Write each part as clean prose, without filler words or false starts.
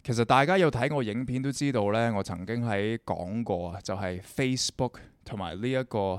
其實大家有睇我影片都知道呢，我曾經喺講過啊，就係 Facebook 同埋呢一個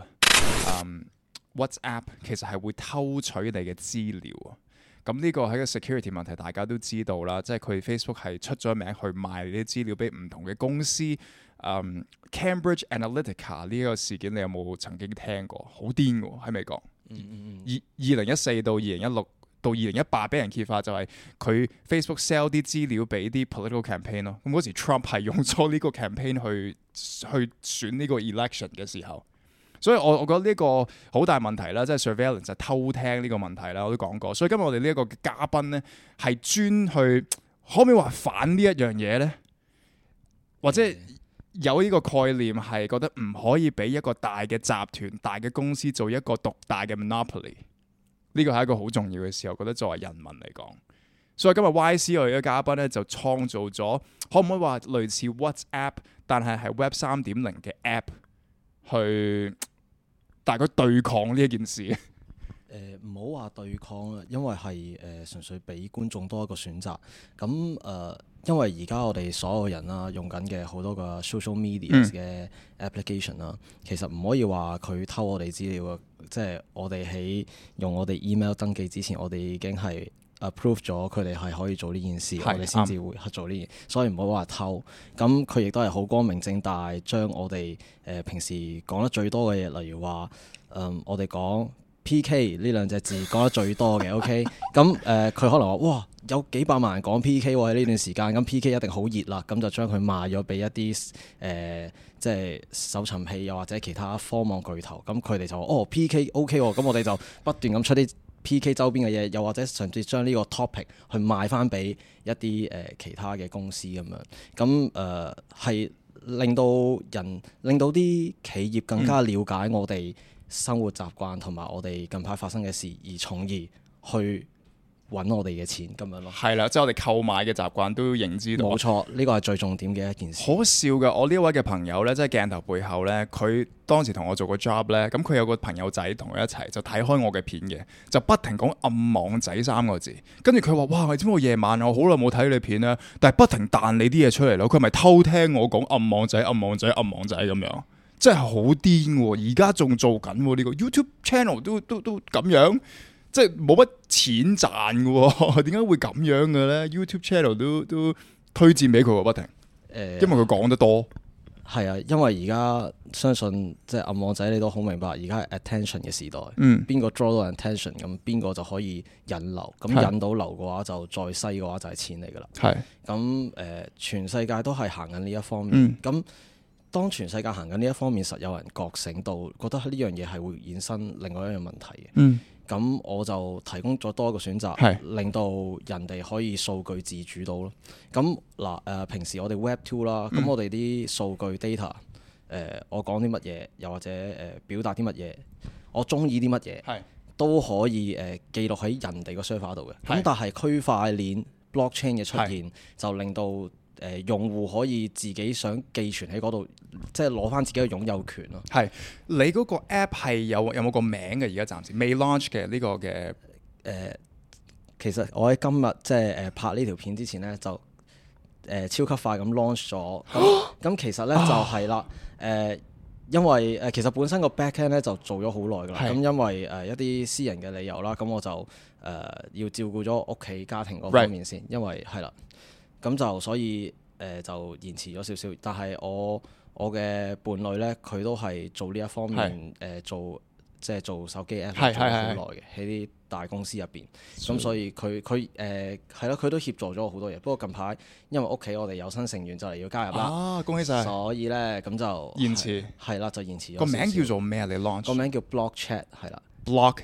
WhatsApp 其實係會偷取你嘅資料啊。咁呢個係個 security 問題，大家都知道啦。即係佢 Facebook 係出咗名去賣呢啲資料俾唔同嘅公司。Cambridge Analytica 呢個事件，你有冇曾經聽過？好癲㗎喺美國。2014到2016到2018俾人揭發，就係佢 Facebook sell 啲資料俾啲 political campaign 咯。咁嗰時 Trump 係用咗呢個 campaign 去選呢個 election 嘅時候。所以我覺得呢個好大問題啦，即係 surveillance 就偷聽呢個問題啦，我都講過。所以今日我哋呢一個嘉賓呢，係專去可唔可以話反呢一樣嘢呢？或者有呢個概念係覺得唔可以俾一個大嘅集團、大嘅公司做一個獨大嘅 monopoly。呢個係一個好重要嘅事，我覺得作為人民嚟講。所以今日 YC 我哋嘅嘉賓呢，就創造咗，可唔可以話類似 WhatsApp， 但係 Web 3.0嘅 app 去大概對抗呢一件事。 唔好話對抗啦，因為係純粹俾觀眾多一個選擇。咁因為而家我哋所有人啦用緊嘅好多個 social media 嘅 application 啦，其實唔可以話佢偷我哋資料啊。即係我哋喺用我哋 email 登記之前，我哋已經係 approve 咗佢哋係可以做呢件事，我哋先至會做呢件，所以唔好話偷。咁佢亦都係好光明正大將我哋平時講得最多嘅嘢，例如話我哋講PK 呢兩隻字講得最多嘅，OK， 咁佢可能話哇有幾百萬人講 PK 喎喺呢段時間，咁 PK 一定好熱啦，咁就將佢賣咗俾一啲即係搜尋器又或者其他科網巨頭，咁佢哋就話哦 PK OK 喎，咁我哋就不斷咁出啲 PK 周邊嘅嘢，又或者甚至將呢個 topic 去賣翻俾一啲其他嘅公司咁樣，咁係令到啲企業更加了解我哋生活習慣同埋我哋近排發生嘅事，而從而去揾我哋嘅錢咁樣咯。係啦，即係我哋購買嘅習慣都認知到。 冇錯，呢個係最重點嘅一件事。 好笑嘅，我呢位嘅朋友呢，即係鏡頭背後呢，佢當時同我做個 job 呢，咁佢有個朋友仔同佢一齊就睇開我嘅片嘅，就不停講暗網仔3個字，跟住佢話：哇，你知唔知我夜晚我好耐冇睇你片啦，但係不停彈你啲嘢出嚟咯，佢咪偷聽我講暗網仔、暗網仔、暗網仔咁樣。真係好癲喎！而家仲做緊喎，呢個 YouTube channel 都咁樣，即係冇乜錢賺嘅喎。點解會咁樣嘅咧？YouTube channel 都推薦俾佢喎，不停。因為佢講得多。 係啊，因為而家相信即係暗網仔，你都好明白，而家係 attention 嘅時代。邊個 draw 到 attention， 咁邊個就可以引流。咁引到流嘅話，就再細嘅話就係錢嚟㗎啦。係。咁全世界都係行緊呢一方面。咁當全世界行緊呢一方面，實有人覺醒到，覺得呢樣嘢係會衍生另外一樣問題嘅。咁我就提供咗多一個選擇，令到人哋可以數據自主到咯。咁嗱平時我哋 Web 2啦，咁我哋啲數據 data，我講啲乜嘢，又或者表達啲乜嘢，我中意啲乜嘢，都可以記錄喺人哋個 server 度嘅。咁但係區塊鏈 blockchain 嘅出現，就令到用戶可以自己想寄存喺嗰度，即係攞翻自己嘅擁有權咯。 係你嗰個 app 係有冇個名嘅？而家暫時未 launch 嘅呢個嘅其實我喺今日即係拍呢條片之前呢，就超級快咁 launch 咗。咁其實呢，就係啦，因為其實本身個 backend 咧就做咗好耐㗎啦。咁因為一啲私人嘅理由啦，咁我就要照顧咗屋企家庭嗰方面先，因為係啦。咁就所以就延遲咗少少，但係我嘅伴侶呢，佢都係做呢一方面即係做手機 app 做咗好耐嘅，喺啲大公司入邊。咁所以佢係咯，佢都協助咗我好多嘢。不過近排因為屋企我哋有新成員就嚟要加入啦， 恭喜晒！ 所以呢，咁就延遲係啦，就延遲咗。 個名叫做咩啊？你 launch 個名叫 Block Chat 係啦。 Block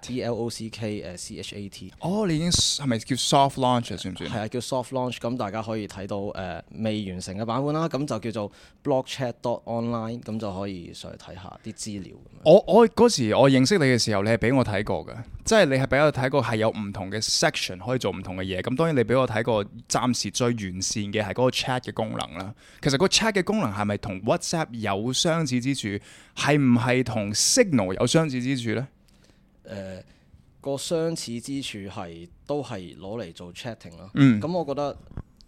Chat，BLOCK，CHAT。 哦，你已經係咪叫 soft launch 算唔算？ 係啊，叫 soft launch。咁大家可以睇到未完成嘅版本啦。咁就叫做 blockchat.online， 咁就可以上去睇下啲資料。 我嗰時我認識你嘅時候，你係俾我睇過嘅，即係你係俾我睇過係有唔同嘅 section 可以做唔同嘅嘢。咁當然你俾我睇過，暫時最完善嘅係嗰個 chat 嘅功能啦。其實個 chat 嘅功能係咪同 WhatsApp 有相似之處？係唔係同 Signal 有相似之處呢？ 個相似之處係都係攞嚟做 chatting 咯。咁我覺得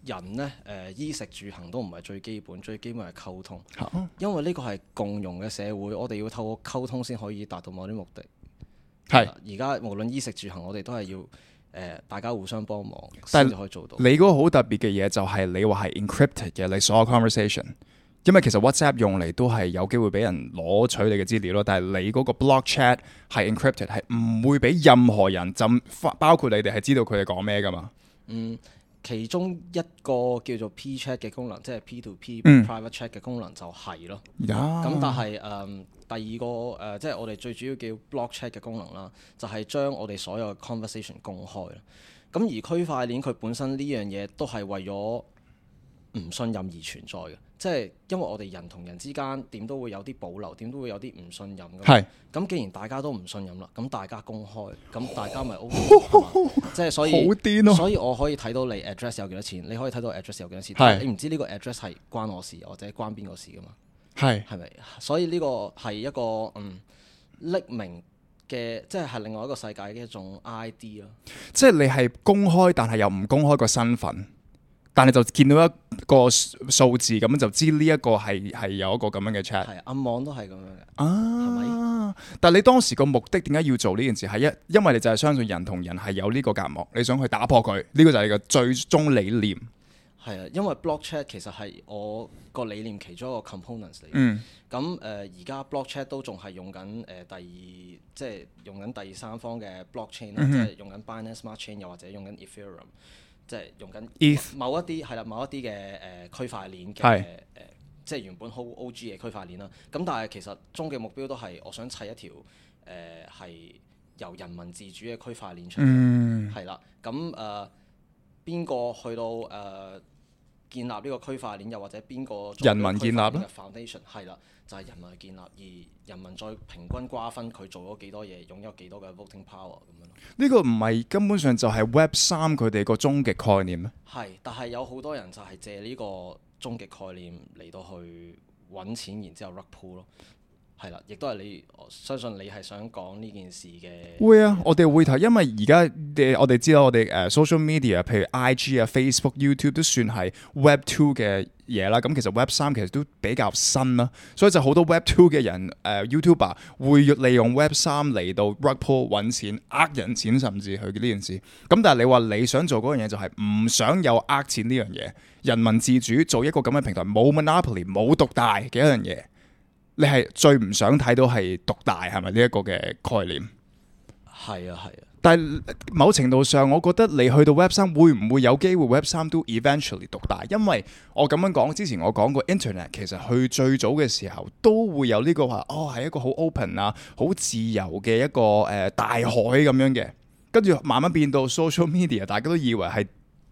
人呢，衣食住行都唔係最基本，最基本係溝通。 啊因為呢個係共融嘅社會，我哋要透過溝通先可以達到某啲目的。 係而家無論衣食住行，我哋都係要大家互相幫忙但先至可以做到。 你嗰個好特別嘅嘢就係你話係 encrypted 嘅，你所有 conversation。因為其實 WhatsApp 用嚟都係有機會俾人攞取你嘅資料咯，但係你嗰個 block chat 係 encrypted，係唔會俾任何人包括你哋係知道佢哋講咩噶嘛。 其中一個叫做 P chat 嘅功能，即係 P2P private chat 嘅功能就係咯。咁但係第二個即係我哋最主要叫 block chat 嘅功能啦，就係將我哋所有嘅 conversation 公開啦。咁而區塊鏈佢本身呢樣嘢都係為咗唔信任而存在嘅，即係因為我哋人同人之間點都會有啲保留，點都會有啲唔信任㗎嘛。 係。 咁既然大家都唔信任啦，咁大家公開，咁大家咪 OK 即係所以好癲咯所以我可以睇到你 address 有幾多錢，你可以睇到 address 有幾多錢， 係但係你唔知呢個 address 係關我事或者關邊個事㗎嘛？係咪？所以呢個係一個匿名嘅，即係另外一個世界嘅一種 ID 咯。 即係你係公開，但係又唔公開個身份，但係就見到一個數字咁就知呢一個係有一個咁樣嘅 chat。 係暗網都係咁樣嘅。 啊， 係咪？ 但係你當時個目的點解要做呢件事？係因為你就係相信人同人係有呢個隔膜，你想去打破佢，呢個就係你嘅最終理念。 係啊，因為 block chat 其實係我個理念其中一個 components 嚟嘅。咁而家 block chat 都仲係用緊即係用緊第三方嘅 blockchain 啦，即係用緊 Binance Smart Chain 又或者用緊 Ethereum，即係用緊某一啲嘅區塊鏈嘅即係原本好 OG 嘅區塊鏈啦。咁但係其實終極目標都係我想砌一條係由人民自主嘅區塊鏈出嚟。係啦，咁邊個去到建立呢個區塊鏈，又或者邊個人民建立咧 foundation 係啦，就係人民去建立，而人民再平均瓜分佢做咗幾多嘢，擁有幾多嘅 voting power 咁樣。 呢個唔係根本上就係 Web3佢哋個終極概念咩？ 係，但係有好多人就係借呢個終極概念嚟到去揾錢，然之後 rug pull 咯。係啦，亦都係我相信你係想講呢件事嘅。 會啊，我哋會睇，因為而家我哋知道我哋social media，譬如 IG 啊、Facebook、YouTube 都算係 Web2 嘅嘢啦。咁其實 Web3 其實都比較新啦，所以就好多 Web2 嘅人YouTuber 會利用 Web3 嚟到 rug pull 揾錢、呃人錢，甚至去呢件事。咁但係你話你想做嗰樣嘢就係唔想有呃錢呢樣嘢，人民自主做一個咁嘅平台，冇 monopoly 冇獨大嘅一樣嘢。你係最唔想睇到係獨大係咪呢一個嘅概念？ 係啊。 但係某程度上，我覺得你去到 Web3會唔會有機會 Web3都 eventually 獨大？因為我咁樣講，之前我講過 Internet 其實去最早嘅時候都會有呢個話，係一個好 open 啊、好自由嘅一個大海咁樣嘅，跟住慢慢變到 social media， 大家都以為係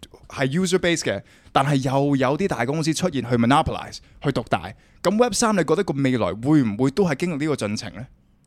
user base 嘅，但係又有啲大公司出現去 monopolize 去獨大。咁 Web3 你覺得個未來會唔會都係經歷呢個進程呢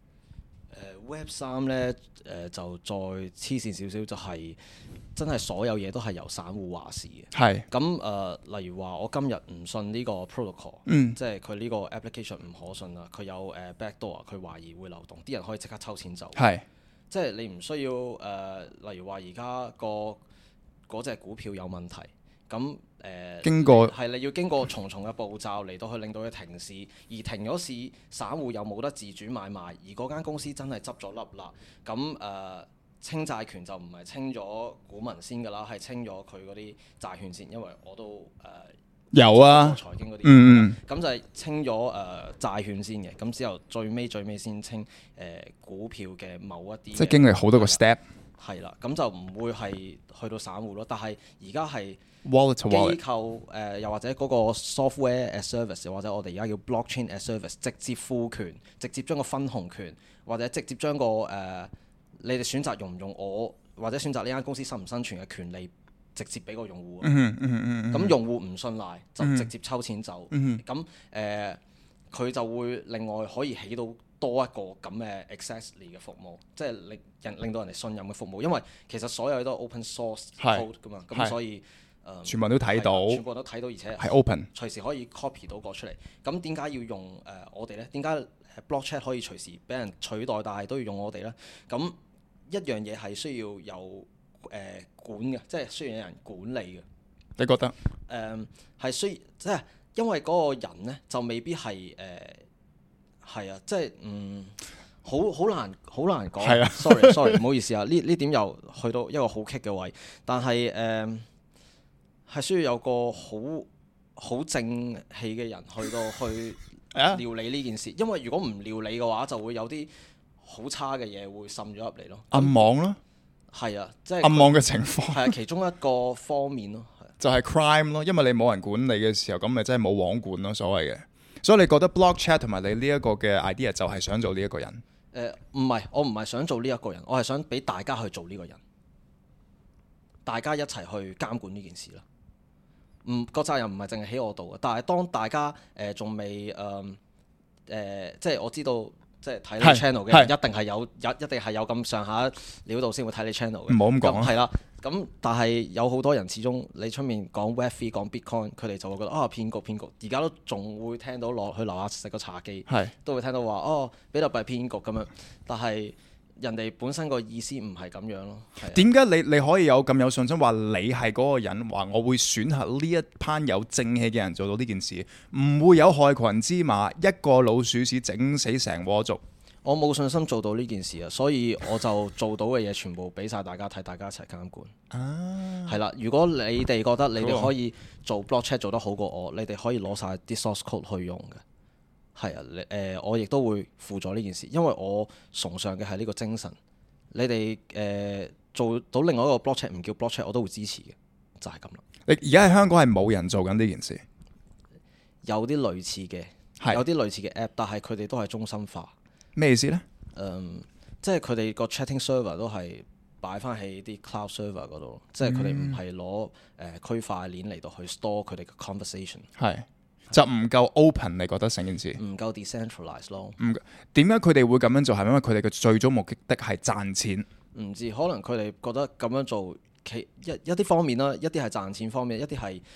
？Web3 呢，就再黐線少少，就係真係所有嘢都係由散戶話事嘅。係。咁例如話我今日唔信呢個 protocol，即係佢呢個 application 唔可信啦，佢有backdoor，佢懷疑會漏洞，啲人可以即刻抽錢走。係。即係你唔需要例如話而家嗰隻股票有問題，咁經過你要經過重重嘅步驟嚟到去令到佢停市，而停咗市，散戶又冇得自主買賣，而嗰間公司真係執咗笠啦，咁清債權就唔係清咗股民先㗎啦，係清咗佢嗰啲債券先，因為我都有啊財經嗰啲，咁就係清咗債券先嘅，咁之後最尾先清股票嘅某一啲，即係經歷好多個 step。係啦，咁就唔會係去到散戶咯，但係而家係機構又或者嗰個 software as service， 或者我哋而家叫 blockchain as service， 直接賦權，直接將個分紅權，或者直接將個你哋選擇用唔用我，或者選擇呢間公司生唔生存嘅權利，直接俾個用戶。咁用戶唔信賴就直接抽錢走。咁佢就會另外可以起到多一個咁嘅 exactly 嘅服務，即係令到人哋信任嘅服務，因為其實所有嘢都係 open source code 噶嘛，咁所以全部人都睇到，全部人都睇到，而且係 open，隨時可以 copy 到個出嚟。咁點解要用我哋呢？點解 block chat 可以隨時俾人取代，但係都要用我哋呢？咁一樣嘢係需要有管嘅，即係需要有人管理嘅。 你覺得？ 係即係因為嗰個人咧就未必係係啊，即係好難講。 係啊 sorry，唔好意思啊，呢點又去到一個好棘嘅位，但係係需要有個好正氣嘅人去料理呢件事，因為如果唔料理嘅話，就會有啲好差嘅嘢會滲咗入嚟咯。 暗網咯， 係啊，即係暗網嘅情況係啊，其中一個方面咯， 就係 crime 咯，因為你冇人管理嘅時候，咁咪真係冇網管咯，所謂嘅。所以你覺得 block chat 同埋你呢一個嘅 idea 就係想做呢一個人？ 唔係，我唔係想做呢一個人，我係想俾大家去做呢個人，大家一齊去監管呢件事啦。個責任唔係淨係喺我度嘅，但係當大家仲未即係我知道，即係睇你 channel 嘅人一定係有咁上下料度先會睇你 channel 嘅。 唔好咁講。 係啦，咁但係有好多人始終你出面講 Web3 講 Bitcoin，佢哋就會覺得騙局。而家都仲會聽到去樓下食個茶記，都會聽到話比特幣騙局咁樣。但係人哋本身個意思唔係咁樣咯。 點解你可以有咁有信心話你係嗰個人？話我會選擇呢一班有正氣嘅人做到呢件事，唔會有害群之馬，一個老鼠屎整死成鍋粥。 我冇信心做到呢件事啊，所以我就做到嘅嘢全部俾晒大家睇，大家一齊監管。係啦，如果你哋覺得你哋可以做 block chat 做得好過我，你哋可以攞晒啲 source code 去用嘅。係啊，我亦都會輔助呢件事，因為我崇尚嘅係呢個精神。你哋做到另外一個 block chat 唔叫 block chat，我都會支持嘅，就係咁啦。 你而家喺香港係冇人做緊呢件事， 有啲類似嘅，有啲類似嘅 app，但係佢哋都係中心化。 咩意思呢？ 即係佢哋個 chatting server 都係擺翻喺啲 cloud server 嗰度，即係佢哋唔係攞區塊鏈嚟到去 store 佢哋嘅 conversation。 係。就唔夠 open，你覺得成件事唔夠 decentralize 咯？ 點解佢哋會咁樣做？係因為佢哋嘅最終目的係賺錢？ 唔知，可能佢哋覺得咁樣做一啲方面啦，一啲係賺錢方面，一啲係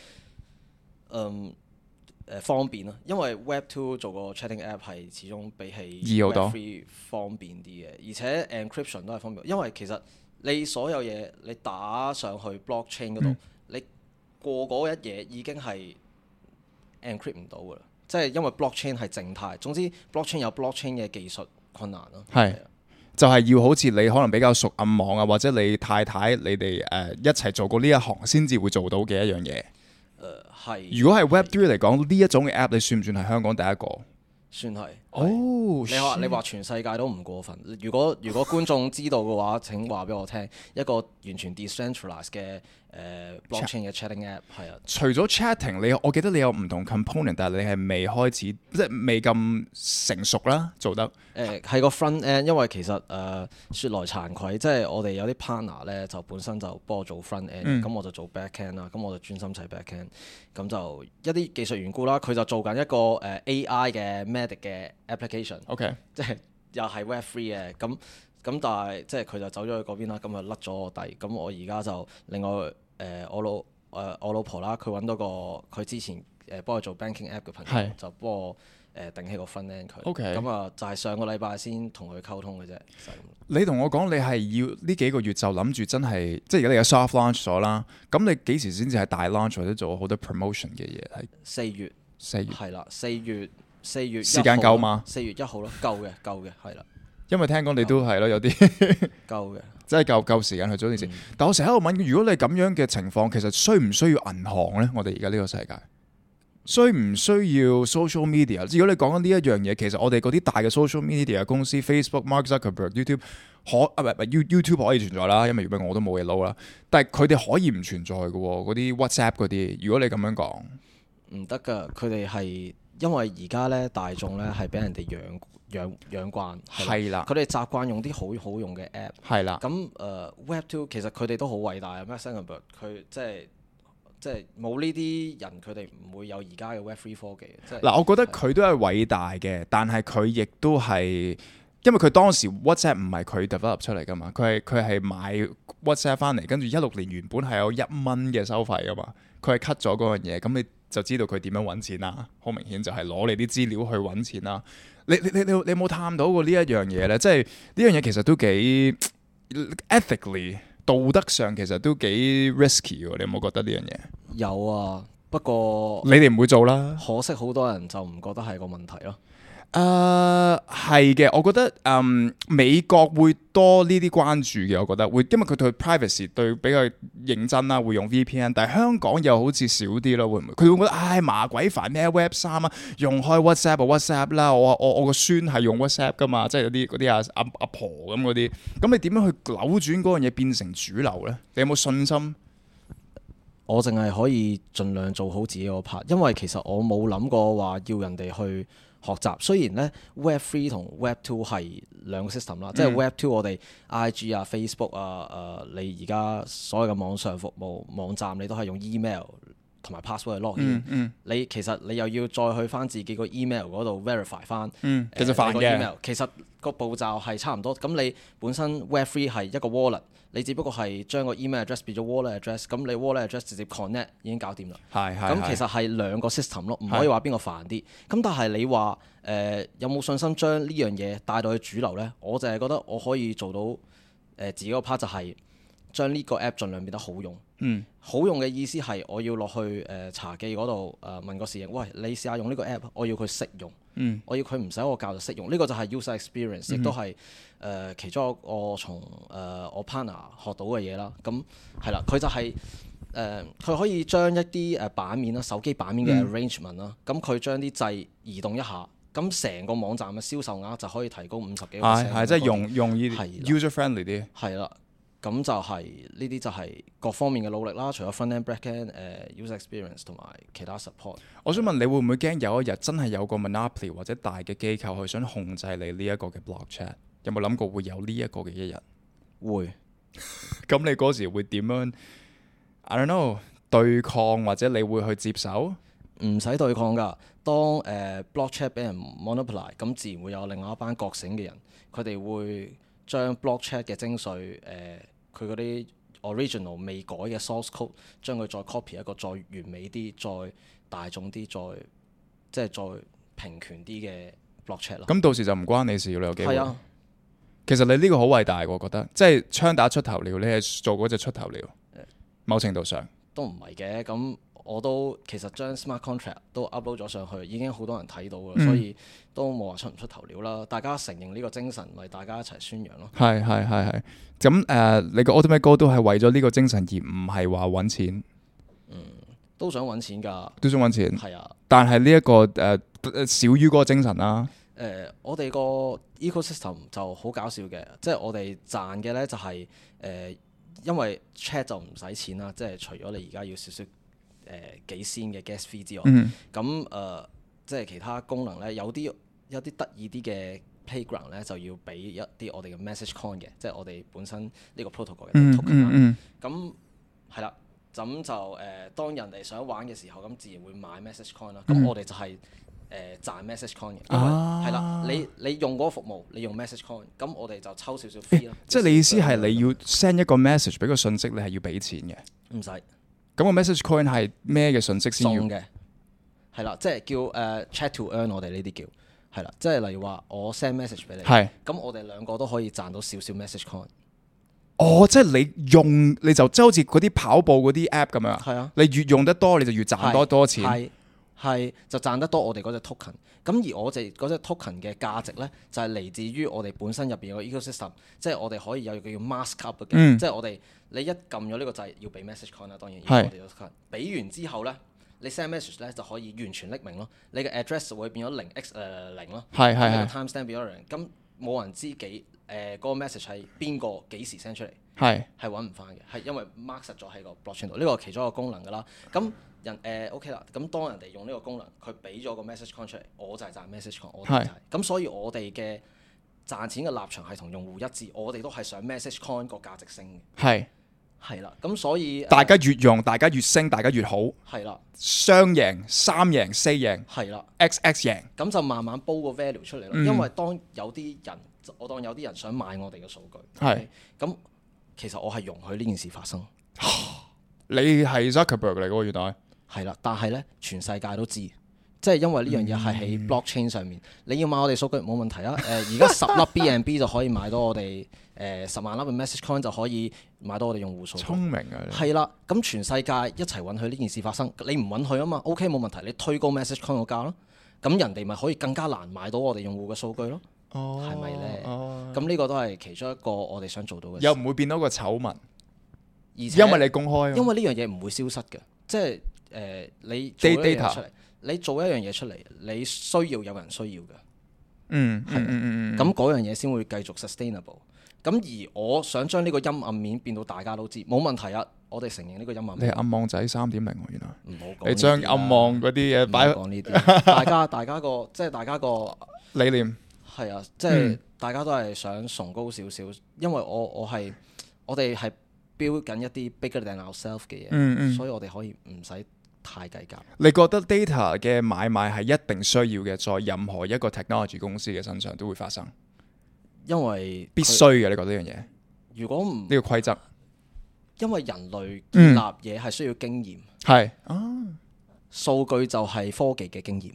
方便啦。因為 Web2 做個 chatting app 係始終比起易好多 Web3 方便啲嘅，而且 encryption 都係方便。因為其實你所有嘢你打上去 blockchain 嗰度，你過嗰一嘢已經係encrypt 唔到㗎啦，即係因為 blockchain 係靜態。總之 blockchain 有 blockchain 嘅技術困難咯。係， 就係要好似你可能比較熟暗網啊，或者你太太你哋一齊做過呢一行先至會做到嘅一樣嘢。 係。 如果係 Web3 嚟講，呢一種嘅 app，你算唔算係香港第一個？ 算係。 你話全世界都唔過分。如果觀眾知道嘅話，請話俾我聽。一個完全 decentralized 嘅blockchain 嘅 chatting app 係啊。除咗 chatting，我記得你有唔同 component，但係你係未開始，即係未咁成熟啦，做得。 係個 front end，因為其實説來慚愧，即係我哋有啲 partner 咧，就本身就幫我做 front end，咁我就做 back end 啦，咁我就專心砌 back end，咁就一啲技術緣故啦，佢就做緊一個AI 嘅 medic 嘅 application，即係又係 Web3 嘅，咁但係即係佢就走咗去嗰邊啦，咁就甩咗我底，咁我而家就另外我老婆啦，佢揾到個佢之前幫佢做 banking app 嘅朋友，就幫我頂起個 front end 佢，咁啊就係上個禮拜先同佢溝通嘅啫。 你同我講你係要呢幾個月就諗住真係，即係而家你有 soft launch 咗啦，咁你幾時先至係大 launch 或者做好多 promotion 嘅嘢？係 4月係啦，4月時間夠嗎 ？4月1號咯，夠嘅係啦。 因為聽講你都係咯，有啲夠嘅， 即係夠時間去做呢件事。但我成日喺度問，如果你咁樣嘅情況，其實需唔需要銀行呢？我哋而家呢個世界需唔需要 social media？如果你講緊呢一樣嘢，其實我哋嗰啲大嘅 social media 公司 Facebook、Mark Zuckerberg、YouTube YouTube 可以存在啦，因為如果我都冇嘢撈啦。但係佢哋可以唔存在嘅喎，嗰啲 WhatsApp 嗰啲。如果你咁樣講， 唔得㗎，佢哋係因為而家咧大眾咧係俾人哋養慣，係啦，佢哋習慣用啲好好用嘅 app，係啦。咁Web2 其實佢哋都好偉大啊，Mark Zuckerberg 佢即係冇呢啲人，佢哋唔會有而家嘅 Web3 科技。 嗱，我覺得佢都係偉大嘅，但係佢亦都係因為佢當時 WhatsApp 唔係佢 develop 出嚟噶嘛，佢係買 WhatsApp 翻嚟，跟住16年原本係有1蚊嘅收費噶嘛，佢係 cut 咗嗰樣嘢，咁你就知道佢點樣揾錢啦。好明顯就係攞你啲資料去揾錢啦。你有冇探討過呢一樣嘢呢？即係呢樣嘢其實都幾 ethically 道德上其實都幾 risky 喎。你有冇覺得呢樣嘢？ 有啊，不過你哋唔會做啦。 可惜好多人就唔覺得係個問題咯。 係嘅，我覺得美國會多呢啲關注嘅，我覺得會，因為佢對 privacy 對比較認真啦，會用 VPN，但係香港又好似少啲咯，會唔會？佢會覺得唉麻鬼煩咩 Web3啊，用開 WhatsApp 啦，我個孫係用 WhatsApp 噶嘛，即係有啲嗰啲阿婆咁嗰啲，咁你點樣去扭轉嗰樣嘢變成主流咧？你有冇信心？ 我淨係可以盡量做好自己個 part，因為其實我冇諗過話要人哋去學習。雖然咧 Web3 同 Web2 係兩個 system 啦，即係 Web2 我哋 IG 啊、Facebook 啊、你而家所有嘅網上服務網站，你都係用 email 同埋 password 去 login。你其實你又要再去翻自己個 email 嗰度 verify 翻。 其實煩嘅。 email 其實個步驟係差唔多。咁你本身 Web3 係一個 wallet。你只不過係將個 email address 變咗 wallet address，咁你 wallet address 直接 connect 已經搞掂啦。咁其實係兩個 system 咯，唔可以話邊個煩啲。咁但係你話有冇信心將呢樣嘢帶到去主流呢？我就係覺得我可以做到自己個 part 就係將呢個 app 盡量變得好用。好用嘅意思係我要落去茶記嗰度問個侍應，喂，你試下用呢個 app，我要佢識用。我要佢唔使我教就識用，呢個就係 user experience，亦都係其中一個我從我 partner 學到嘅嘢啦。咁係啦，佢就係佢可以將一啲版面啦、手機版面嘅 arrangement 啦，咁佢將啲掣移動一下，咁成個網站嘅銷售額就可以提高50幾%。 係即係用呢啲 user friendly 啲。 係啦，咁就係呢啲就係各方面嘅努力啦，除咗 front end、back end、user experience 同埋其他 support。 我想問你會唔會驚有一日真係有個 monopoly 或者大嘅機構去想控制你呢一個嘅 block chat？ 有冇諗過會有呢一個嘅一日？ 會。 咁你嗰時會點樣 I don't know 對抗，或者你會去接手？ 唔使對抗㗎。當block chat 俾人 monopolize，咁自然會有另外一班覺醒嘅人，佢哋會將 block chat 嘅精髓佢嗰啲 original 未改嘅 source code，將佢再 copy 一個再完美啲、再大眾啲、再平權啲嘅 block chat 咯。 咁到時就唔關你事，你有機會。 係啊， 其實你呢個好偉大，我覺得，即係槍打出頭鳥，你係做嗰隻出頭鳥。某程度上都唔係嘅。咁我都其實將 smart contract 都 upload 咗上去，已經好多人睇到㗎，所以都冇話出唔出頭鳥啦。大家承認呢個精神，咪大家一齊宣揚咯。 係。咁你個 Ultimate Goal 都係為咗呢個精神，而唔係話揾錢。 都想揾錢㗎。 都想揾錢。 係啊。 但係呢一個少於嗰個精神啦。 我哋個 ecosystem 就好搞笑嘅，即係我哋賺嘅呢就係因為 chat 就唔使錢啦，即係除咗你而家要少少幾仙嘅 gas fee 之外，咁即係其他功能呢，有啲得意啲嘅 playground 呢，就要俾一啲我哋嘅 message coin 嘅，即係我哋本身呢個 protocol 嘅 token 啦。咁係啦，咁就當人哋想玩嘅時候，咁自然會買 message coin 啦。咁我哋就係賺 message coin 嘅，因為係啦，你用嗰個服務，你用 message coin，咁我哋就抽少少 fee 咯。 即係你意思係你要 send 一個 message 俾個信息，你係要俾錢嘅？ 唔使。 咁個 message coin 係咩嘅信息先要？ 送嘅，係啦，即係叫chat to earn，我哋呢啲叫係啦，即係例如話我 send message 俾你，咁我哋兩個都可以賺到少少 message coin。 即係你用你就即係好似嗰啲跑步嗰啲 app 咁樣。係啊，你越用得多，你就越賺多錢。 係就賺得多我哋嗰隻 token，咁而我哋嗰隻 token 嘅價值呢，就係嚟自於我哋本身入邊個 ecosystem，即係我哋可以有個叫 mask up 嘅，即係我哋你一撳咗呢個掣要俾 message coin 啦，當然要我哋個 token，俾完之後呢，你 send message 呢就可以完全匿名咯，你嘅 address 會變咗0x0咯，你個 timestamp 變咗0，咁冇人知嗰個 message 係邊個幾時 send 出嚟，係揾唔翻嘅，係因為 mark 實咗喺個 blockchain 度，呢個係其中一個功能㗎啦，咁。OK 啦，咁當人哋用呢個功能，佢俾咗個 message coin 出嚟，我就係賺 message coin，我哋就係咁，所以我哋嘅賺錢嘅立場係同用戶一致，我哋都係想 message coin 個價值升嘅。係啦，咁所以大家越用，大家越升，大家越好。係啦，雙贏、三贏、四贏。係啦 ，XX 贏， 咁就慢慢煲個 value 出嚟咯。因為當有啲人，我當有啲人想買我哋嘅數據，咁其實我係容許呢件事發生。 你係 Zuckerberg 嚟嘅喎，原來。 係啦，但係咧，全世界都知， 即係因為呢樣嘢係喺 blockchain 上面，你要買我哋數據冇問題啊。而家10粒 BNB 就可以買到我哋10萬粒嘅 message coin 就可以買到我哋用戶數據。 聰明啊！ 係啦，咁全世界一齊允許呢件事發生，你唔允許啊嘛 ？OK 冇問題，你推高 message coin 個價咯，咁人哋咪可以更加難買到我哋用戶嘅數據咯。係咪咧？咁呢個都係其中一個我哋想做到嘅事。 又唔會變到個醜聞， 而且因為你公開。 因為呢樣嘢唔會消失嘅，即係你做一樣嘢出嚟，你做一樣嘢出嚟，你需要有人需要嘅。咁嗰樣嘢先會繼續 sustainable。咁而我想將呢個陰暗面變到大家都知，冇問題啊！我哋承認呢個陰暗面。 你係暗網仔3.0喎，原來。 唔好講。 你將暗網嗰啲嘢擺。 唔好講呢啲。大家個理念。 係啊，即係大家都係想崇高少少，因為我哋係 build 緊一啲 bigger than ourselves 嘅嘢，所以我哋可以唔使太計較。 你覺得 data 嘅買賣係一定需要嘅，在任何一個 technology 公司嘅身上都會發生？ 因為必須嘅，你覺得呢樣嘢？ 如果唔呢個規則， 因為人類建立嘢係需要經驗， 係數據就係科技嘅經驗。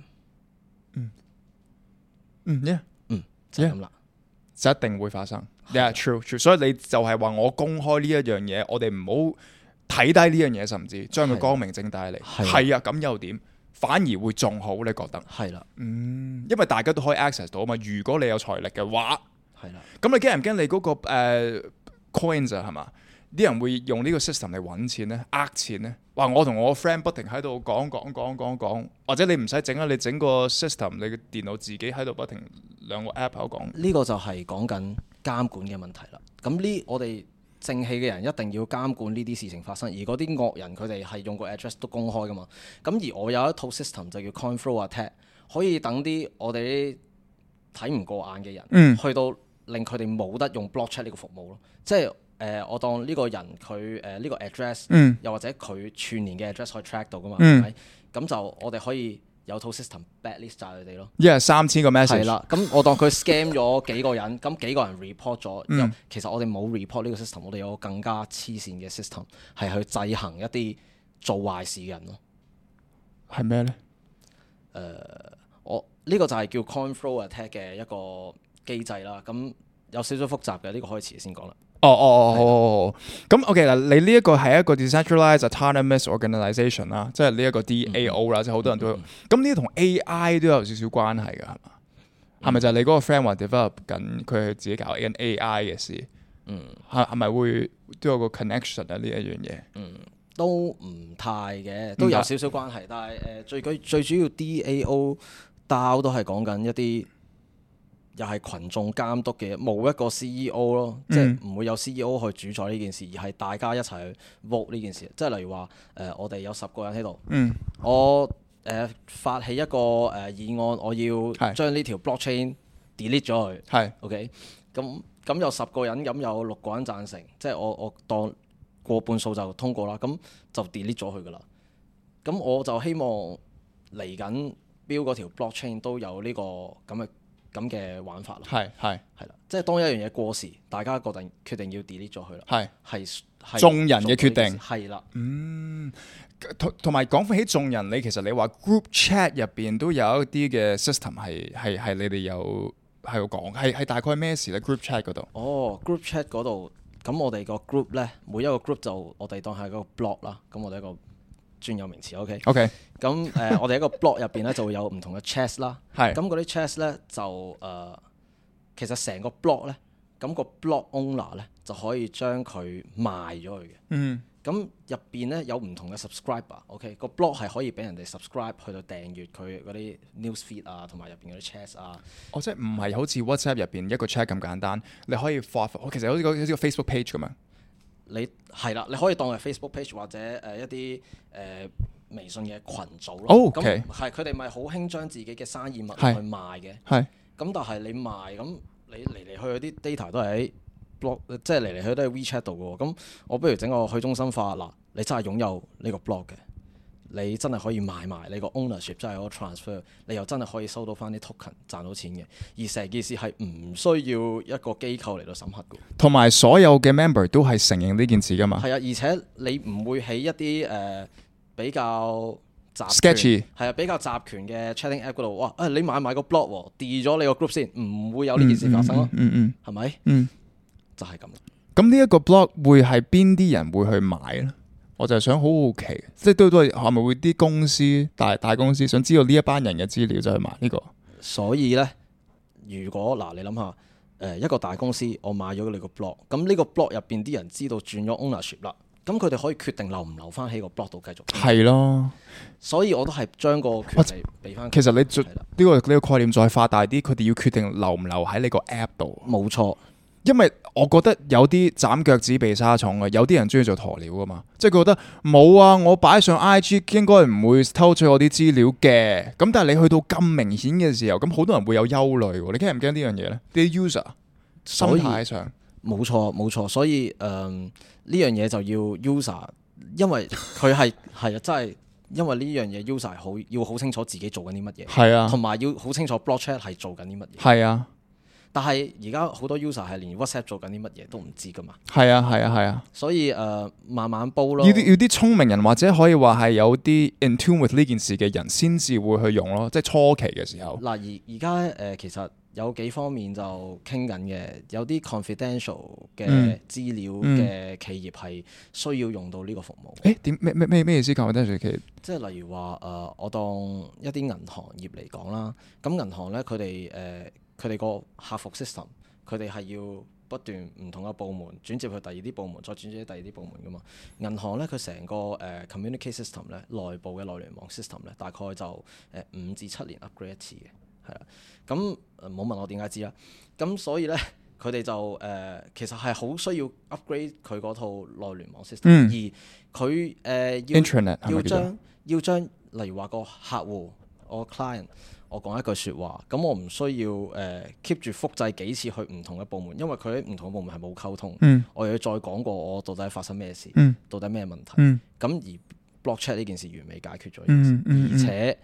就係咁啦， 就一定會發生。true，所以你就係話我公開呢一樣嘢，我哋唔好睇低呢樣嘢，甚至將佢光明正大嚟。係啊，咁又點？反而會仲好，你覺得？ 係啦， 因為大家都可以 access 到啊嘛。如果你有財力嘅話， 係啦。 咁你驚唔驚你嗰個coins 啊？係嘛？啲人會用呢個 system 嚟揾錢咧，呃錢咧。話我同我個 friend 不停喺度講，或者你唔使整啊，你整個 system，你嘅電腦自己喺度不停兩個 app 喺度講。呢個就係講緊監管嘅問題啦。咁我哋正氣嘅人一定要監管呢啲事情發生，而嗰啲惡人佢哋係用個 address 都公開噶嘛。咁而我有一套 system 就叫 coin flow attack，可以等啲我哋睇唔過眼嘅人，去到令佢哋冇得用 blockchain 呢個服務咯。即係我當呢個人佢呢個 address，又或者佢串連嘅 address 可以 track 到噶嘛，係咪？咁就我哋可以有套 system blacklist 晒佢哋咯。 3000個 message。係啦，咁我當佢 scam 咗幾個人，咁幾個人 report 咗，其實我哋冇 report 呢個 system，我哋有個更加黐線嘅 system 係去制衡一啲做壞事嘅人咯。 係咩咧？ 我呢個就係叫 coin flow attack 嘅一個機制啦。咁有少少複雜嘅，呢個可以遲先講啦。 好。咁 OK 啦，你呢一個係一個 decentralized autonomous organisation 啦，即係呢一個 DAO 啦，即係好多人都有。咁呢啲同 AI 都有少少關係㗎，係嘛？係咪就係你嗰個 friend 話 develop 緊，佢係自己搞緊 AI 嘅事？係咪會都有個 connection 啊？呢一樣嘢？ 都唔太嘅，都有少少關係，但係最主要 DAO 都係講緊一啲。又係群眾監督嘅，冇一個 CEO 咯，即係唔會有 CEO 去主宰呢件事，而係大家一齊去 vote 呢件事。即係例如話，我哋有10個人喺度，我發起一個議案，我要將呢條 blockchain delete 咗佢。OK，咁有10個人，咁有6個人贊成，即係我當過半數就通過啦，咁就 delete 咗佢噶啦。咁我就希望嚟緊標嗰條 blockchain 都有呢個咁嘅玩法咯，係啦，即係當一樣嘢過時，大家決定要 delete 咗佢啦，係眾人嘅決定， 係啦， 同埋講起眾人，其實你話 group chat 入邊都有一啲嘅 system 係你哋有喺度講，係大概咩事咧 ？group chat 嗰度 group chat 嗰度，咁我哋個 group 咧，每一個 group 就我哋當係個 block 啦，咁我哋一個專有名詞 OK，咁我哋一個 block 入邊咧就會有唔同嘅 chest 啦，咁嗰啲 chest 咧就其實成個 block 咧，咁個 block owner 咧就可以將佢賣咗去嘅，咁入邊咧有唔同嘅 subscriber，OK，個 block 係可以俾人哋 subscribe 去到訂閱佢嗰啲 news feed 啊，同埋入邊嗰啲 chest 啊。 即係唔係好似 WhatsApp 入邊一個 chat 咁簡單，你可以發，其實好似個 Facebook page 咁樣。 你係啦，你可以當係 Facebook page 或者一啲微信嘅群組咯。咁係佢哋咪好興將自己嘅生意物去賣嘅。咁但係你賣咁，你嚟嚟去去啲 data 都係喺 blog，即係嚟嚟去去都係 WeChat 度嘅喎。咁我不如整個去中心化嗱，你真係擁有呢個 blog 嘅，你真係可以賣埋你個 ownership，真係可以 transfer，你又真係可以收到翻啲 token 賺到錢嘅。而成件事係唔需要一個機構嚟到審核嘅。 同埋所有嘅 member 都係承認呢件事㗎嘛。 係啊，而且你唔會喺一啲比較 sketchy 係啊，比較集權嘅 chatting app 嗰度，哇！你買個 blog 喎，delete 咗你個 group 先，唔會有呢件事發生咯。係咪？就係咁。 咁呢一個 blog 會係邊啲人會去買咧？我就係想好奇，即係都係咪會啲公司大公司想知道呢一班人嘅資料就去買呢個？ 所以咧，如果你諗下，一個大公司我買咗你個 blog，咁呢個 blog 入邊啲人知道轉咗 ownership 啦，咁佢哋可以決定留唔留翻喺個 blog 度繼續。 係咯， 所以我都係將個權利俾翻。 其實你呢個概念再發大啲，佢哋要決定留唔留喺你個 app 度。 冇錯。 因為我覺得有啲斬腳趾避沙蟲嘅，有啲人中意做鴕鳥噶嘛，即係佢覺得冇啊，我擺上 IG 應該唔會偷取我啲資料嘅。咁但係你去到咁明顯嘅時候，咁好多人會有憂慮喎。你驚唔驚呢樣嘢呢？啲 user 心態上冇錯，所以呢樣嘢就要 user， 因為佢係啊，真係因為呢樣嘢 user 要好清楚自己做緊啲乜嘢， 係啊， 同埋要好清楚 blog chat 係做緊啲乜嘢， 係啊。 但係而家好多 user 係連 WhatsApp 做緊啲乜嘢都唔知噶嘛。 係啊。 所以慢慢煲咯。 要啲聰明人或者可以話係有啲 in tune with 呢件事嘅人先至會去用咯，即係初期嘅時候。 嗱而家其實有幾方面就傾緊嘅，有啲 confidential 嘅資料嘅企業係需要用到呢個服務。 點咩意思 confidential 企業？ 即係例如話我當一啲銀行業嚟講啦，咁銀行咧佢哋個客服 system， 佢哋係要不斷唔同嘅部門轉接去第二啲部門，再轉接去第二啲部門噶嘛。銀行咧佢成個communicate system 咧，內部嘅內聯網 system 咧，大概就5至7年 upgrade 一次嘅，係啦。咁唔好問我點解知啦。咁所以咧佢哋就其實係好需要 upgrade 佢嗰套內聯網 system，而佢要將例如話個客戶我 client。我講一句説話，咁我唔需要keep 住複製幾次去唔同嘅部門，因為佢喺唔同嘅部門係冇溝通。我又要再講過我到底發生咩事，到底咩問題。咁而 blog chat 呢件事完美解決咗呢件事，而且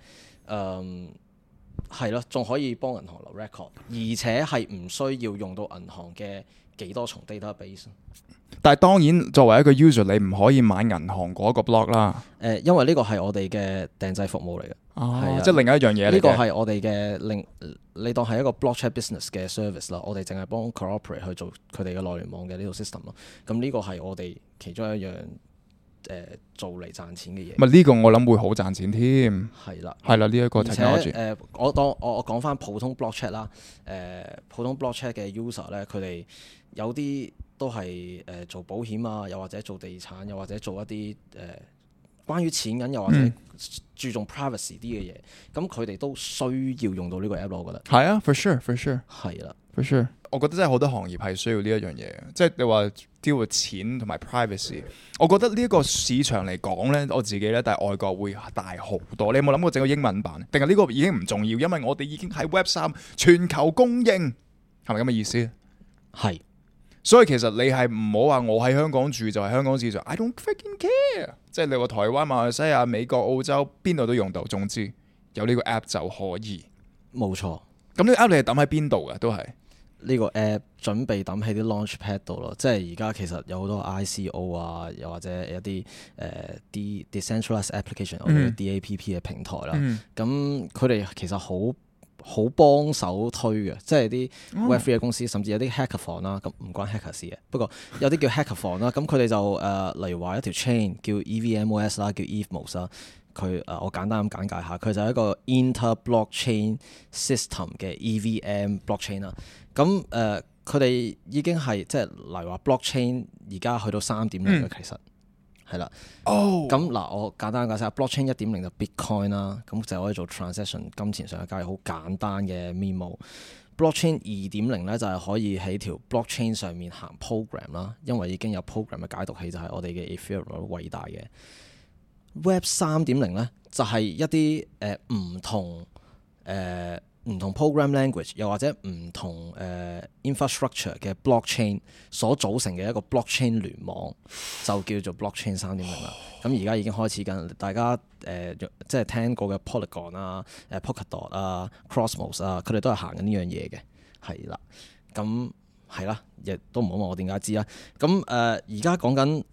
係咯，仲可以幫銀行留 record， 而且係唔需要用到銀行嘅幾多重 database。 但係當然作為一個 user，你唔可以買銀行嗰個 blog 啦。 因為呢個係我哋嘅訂製服務嚟嘅， 即係另一樣嘢嚟嘅。 呢個係我哋嘅你當係一個 blog chat business 嘅 service 啦。我哋淨係幫 cooperate 去做佢哋嘅內聯網嘅呢套 system 咯。咁呢個係我哋其中一樣做嚟賺錢嘅嘢。 咪呢個我諗會好賺錢添。 係啦， 呢一個 technology。 而且我講翻普通 blog chat 啦。普通 blog chat 嘅 user 咧，佢哋有啲都係做保險啊，又或者做地產，又或者做一啲關於錢銀，又或者注重 privacy 啲嘅嘢。咁佢哋都需要用到呢個 app 咯，我覺得。 係啊 ，for sure。 係啦 ，for sure。我覺得真係好多行業係需要呢一樣嘢，即係你話 deal with 錢同埋 privacy。我覺得呢一個市場嚟講咧，我自己咧，但係外國會大好多。你有冇諗過整個英文版？定係呢個已經唔重要，因為我哋已經喺 Web3 全球供應，係咪咁嘅意思？ 係。 所以其實你係唔好話我喺香港住就係香港市場 ，I don't freaking care。即係你話台灣、馬來西亞、美國、澳洲邊度都用到，總之有呢個 app 就可以。 冇錯。 咁呢個 app 你係抌喺邊度㗎？都係呢個 app 準備抌喺啲 launchpad 度咯。即係而家其實有好多 ICO 啊，又或者一啲啲 decentralized application 或者 DApp 嘅平台啦。咁佢哋其實好幫手推嘅，即係啲 Web3 嘅公司，甚至有啲 hackathon 啦，咁唔關 hacker 事嘅。不過有啲叫 hackathon 啦，咁佢哋就例如話一條 chain 叫 EVMOS 啦，叫 EVMOS 啦。佢我簡單咁簡介下，佢就係一個 inter-blockchain system 嘅 EVM blockchain 啦。咁佢哋已經係即係例如話 blockchain 而家去到3.0嘅其實。係啦，咁嗱，我簡單解釋下 blockchain 1.0就 Bitcoin 啦，咁就可以做 transaction 金錢上嘅交易，好簡單嘅 memo。blockchain 2.0咧就係可以喺條 blockchain 上面行 program 啦，因為已經有 program 嘅解讀器就係我哋嘅 Ethereum 偉大嘅。Web 3.0咧就係一啲唔同 program language 又或者唔同infrastructure 嘅 blockchain 所組成嘅一個 blockchain 聯網，就叫做 blockchain 3.0啦。咁而家已經開始緊，大家即係聽過嘅 Polygon 啊、Polkadot 啊、Cosmos 啊，佢哋都係行緊呢樣嘢嘅，係啦。咁係啦，亦都唔好問我點解知啦。咁而家講緊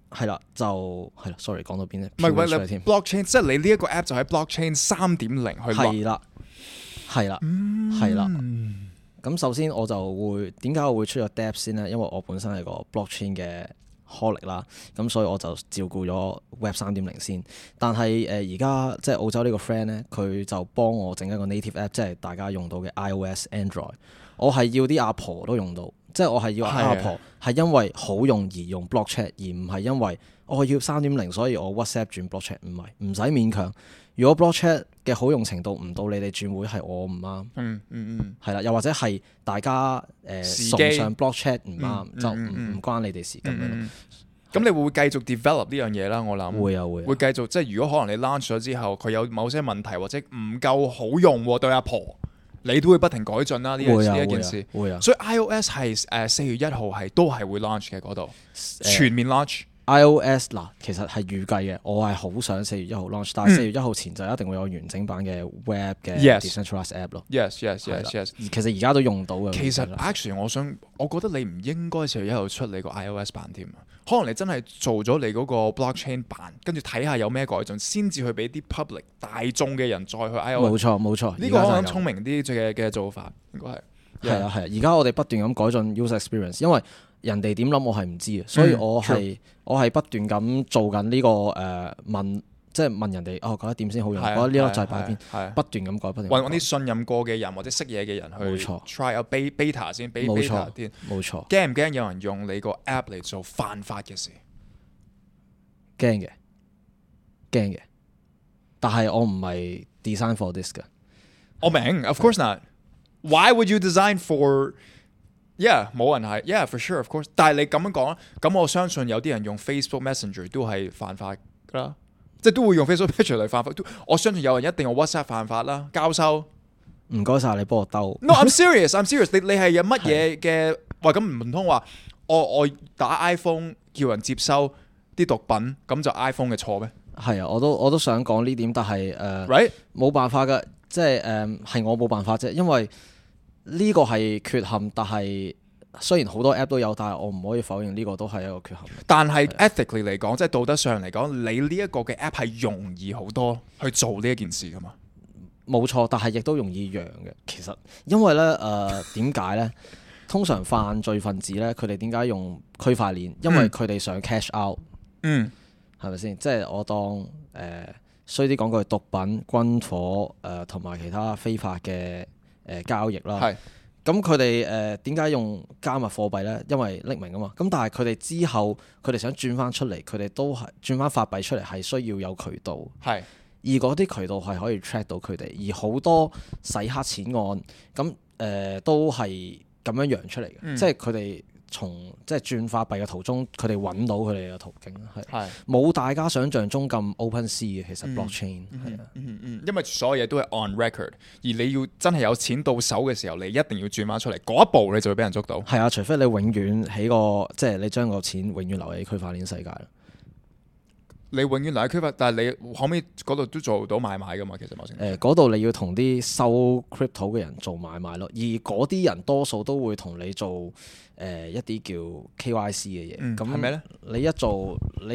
係啦，就係啦。sorry，講到邊咧？ 唔係喂飄咗出嚟添。 blockchain，即係你呢一個 app 就喺 blockchain 3.0去落。 係啦，係啦，係啦。咁首先我就會點解我會出咗 Dapps 先咧？因為我本身係個 blockchain 嘅 holic 啦，咁所以我就照顧咗 Web 3.0先。但係而家即係澳洲呢個 friend 咧，佢就幫我整一個 native app，即係大家用到嘅 iOS、Android。我係要啲阿婆都用到，即係我係要阿婆係因為好用而用 blockchain，而唔係因為我要3.0，所以我 WhatsApp 轉 blockchain。唔係，唔使勉強。如果 blockchain 嘅好用程度唔到你哋轉會，係我唔啱。係啦，又或者係大家崇尚 blockchain 唔啱，就唔關你哋事咁樣。 咁你會繼續 develop 呢樣嘢啦，我諗會繼續。即係如果可能你 launch 咗之後，佢有某些問題或者唔夠好用對阿婆，你都會不停改進啦。呢一件事。會啊。所以 iOS 係4月1號係都係會 launch 嘅嗰度，全面 launch。 iOS 嗱，其實係預計嘅，我係好想4月1號 launch，但係4月1號前就一定會有完整版嘅 web 嘅 decentralized app 咯。 Yes。 其實而家都用到嘅。 其實 actually 我覺得你唔應該4月1號出你個 iOS 版添，可能你真係做咗你嗰個 blockchain 版，跟住睇下有咩改進，先至去俾啲 public 大眾嘅人再去 iOS。 冇錯， 呢個可能聰明啲嘅做法，應該係。 係啊，而家我哋不斷咁改進 user experience， 因為人哋點諗我係唔知嘅，所以我係不斷咁做緊呢個問，即係問人哋覺得點先好用，覺得呢粒掣擺邊，不斷咁改，不斷揾啲信任過嘅人或者識嘢嘅人去 try out beta 先，俾 beta 先。 冇錯。 驚唔驚有人用你個 app 嚟做犯法嘅事？ 驚嘅，但係我唔係 design for this 嘅。 我明 ，of course not。Why would you design for？ Yeah， 冇人係 ，Yeah for sure of course。但係你咁樣講，咁我相信有啲人用 Facebook Messenger 都係犯法㗎啦，即係都會用 Facebook Messenger 嚟犯法。我相信有人一定用 WhatsApp 犯法啦，交收。 唔該晒，你幫我兜。 No，I'm serious。你係有乜嘢嘅？喂，咁唔通話我打 iPhone 叫人接收啲毒品，咁就 iPhone 嘅錯咩？ 係啊，我都想講呢點，但係 Right？ 冇辦法㗎，即係係我冇辦法啫，因為呢個係缺陷，但係雖然好多 app 都有，但係我唔可以否認呢個都係一個缺陷。 但係 ethically 嚟講，即係道德上嚟講，你呢一個嘅 app 係容易好多去做呢一件事噶嘛？ 冇錯，但係亦都容易揚嘅。其實因為咧點解咧？通常犯罪分子咧，佢哋點解用區塊鏈？因為佢哋想 cash out。係咪先？即係我當衰啲講句，毒品、軍火同埋其他非法嘅交易啦。係。咁佢哋點解用加密貨幣咧？因為匿名啊嘛。咁但係佢哋之後佢哋想轉翻出嚟，佢哋都係轉翻法幣出嚟，係需要有渠道。係。而嗰啲渠道係可以 track 到佢哋，而好多洗黑錢案咁都係咁樣揚出嚟嘅。即係佢哋從即係轉法幣嘅途中，佢哋揾到佢哋嘅途徑係冇大家想象中咁 open sea 嘅。其實 blockchain 係啊， 因為所有嘢都係 on record，而你要真係有錢到手嘅時候，你一定要轉翻出嚟，嗰一步你就會俾人捉到。係啊，除非你永遠喺個即係你將個錢永遠留喺區塊鏈世界啦。 你永遠留喺區塊，但係你可唔可以嗰度都做到買賣噶嘛？其實某程度嗰度你要同啲收 crypto 嘅人做買賣咯，而嗰啲人多數都會同你做一啲叫 KYC 嘅嘢。咁係咩咧？你一做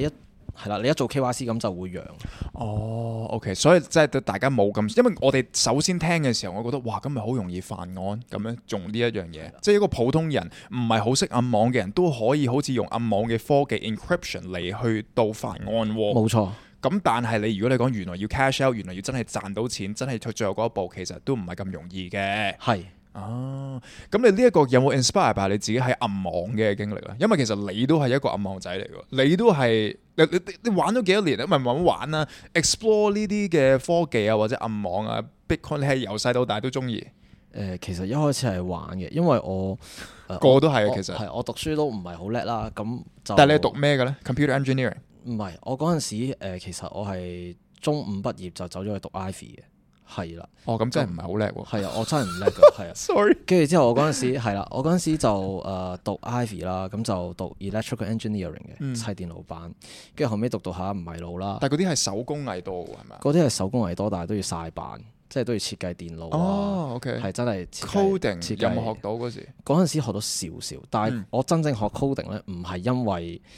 KYC 咁就會揚。 哦，OK， 所以即係對大家冇咁，因為我哋首先聽嘅時候，我覺得哇，咁咪好容易犯案咁樣用呢一樣嘢，即係一個普通人唔係好識暗網嘅人都可以好似用暗網嘅科技 encryption 嚟去到犯案喎。 冇錯。 咁但係如果你講原來要 cash out， 原來要真係賺到錢，真係去最後嗰一步，其實都唔係咁容易嘅。係。咁你呢一個有冇 inspire by 你自己喺暗網嘅經歷咧？因為其實你都係一個暗網仔嚟嘅，你都係你玩咗幾多年咧？唔係慢慢玩啦 ，explore 呢啲嘅科技啊，或者暗網啊 ，Bitcoin 你係由細到大都中意。 其實一開始係玩嘅，因為我個都係其實係我讀書都唔係好叻啦，咁就但係你係讀咩嘅咧 ？Computer engineering？ 唔係，我嗰陣時其實我係中五畢業就走咗去讀 Ivy 嘅。係啦， 咁真係唔係好叻喎。 係啊，我真係唔叻㗎，係啊。 Sorry。 跟住之後我嗰陣時係啦，我嗰陣時就讀 Ivy 啦，咁就讀 electrical engineering 嘅砌電路板，跟住後尾讀下唔係路啦。 但係嗰啲係手工藝多喎，係咪？ 嗰啲係手工藝多，但係都要曬板，即係都要設計電路啊。 OK。係真係 coding 有冇學到嗰時？ 嗰陣時學到少少，但係我真正學 coding 咧，唔係因為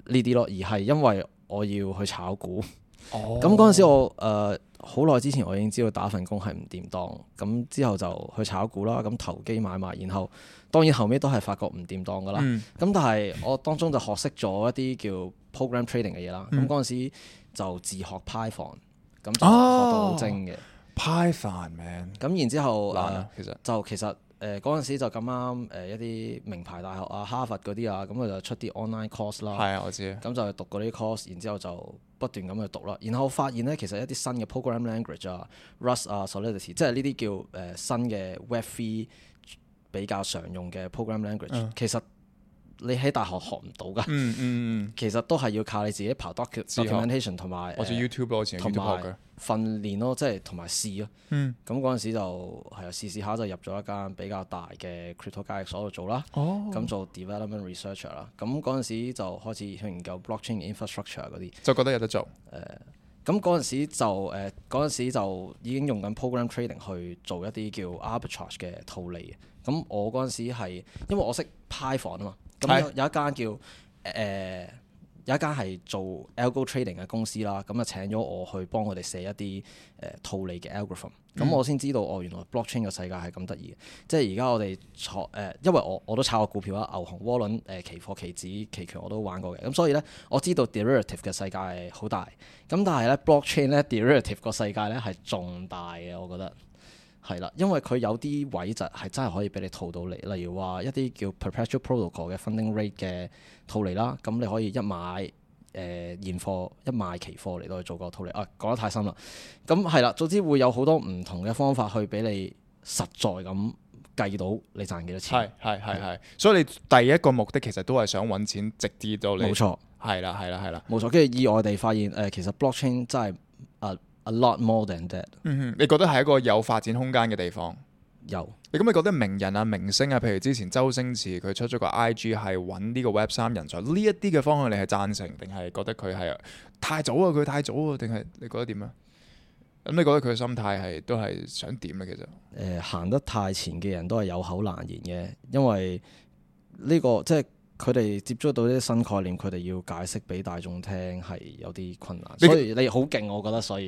呢啲咯，而係因為我要去炒股。 哦， 咁嗰陣時我好耐之前我已經知道打份工係唔掂當，咁之後就去炒股啦，咁投機買賣，然後當然後尾都係發覺唔掂當噶啦。咁、但係我當中就學識咗一啲叫 program trading 嘅嘢啦。咁嗰陣時就自學 Python， 咁就學到好精嘅。 Python man， 咁然之後其實嗰陣時就咁啱一啲名牌大學啊、哈佛嗰啲啊，咁佢就出啲 online course 啦。 係啊，我知。 咁就讀嗰啲 course，然之後就不斷咁去讀啦。然後發現咧，其實一啲新嘅 program language 啊、Rust 啊、Solidity，即係呢啲叫新嘅 Web3 比較常用嘅 program language，其實你喺大學學唔到噶。其實都係要靠你自己刨 documentation 同埋或者 YouTube 咯，以前 YouTube 學嘅訓練咯，即係同埋試咯。咁嗰陣時就係試下就入咗一間比較大嘅 crypto 交易所度做啦。咁做 development researcher 啦。咁嗰陣時就開始去研究 blockchain infrastructure 嗰啲， 就覺得有得做。 咁嗰陣時就已經用緊 program trading 去做一啲叫 arbitrage 嘅套利嘅。咁我嗰陣時係因為我識 Python 啊嘛，咁有一間叫有一間係做 algo trading 嘅公司啦，咁就請咗我去幫佢哋寫一啲套利嘅 algorithm。咁我先知道原來 blockchain 嘅世界係咁得意嘅。即係而家我哋因為我都炒過股票啦，牛熊渦輪、期貨、期指、期權我都玩過嘅。咁所以咧，我知道 derivative 嘅世界係好大。咁但係咧 blockchain 咧 derivative 個世界咧係仲大嘅，我覺得係啦，因為佢有啲位就係真係可以俾你套到嚟，例如話一啲叫 perpetual protocol 嘅 funding rate 嘅套利啦。咁你可以一買現貨一賣期貨嚟到去做個套利。講得太深啦。咁係啦，總之會有好多唔同嘅方法去俾你實在咁計到你賺幾多錢。 係，所以你第一個目的其實都係想揾錢直啲到你。 冇錯。係啦。 冇錯，跟住意外地發現其實 blockchain 真係a lot more than that。 你覺得係一個有發展空間嘅地方？ 有。 你覺得名人啊、明星啊，譬如之前周星馳佢出咗個 IG 係揾呢個 Web3 人才，呢一啲嘅方向你係贊成定係覺得佢係太早啊？佢太早啊？定係你覺得點啊？咁你覺得佢嘅心態都係想點咧？其實行得太前嘅人都係有口難言嘅，因為呢個即係佢哋接觸到啲新概念，佢哋要解釋俾大眾聽係有啲困難。所以你好勁，我覺得。所以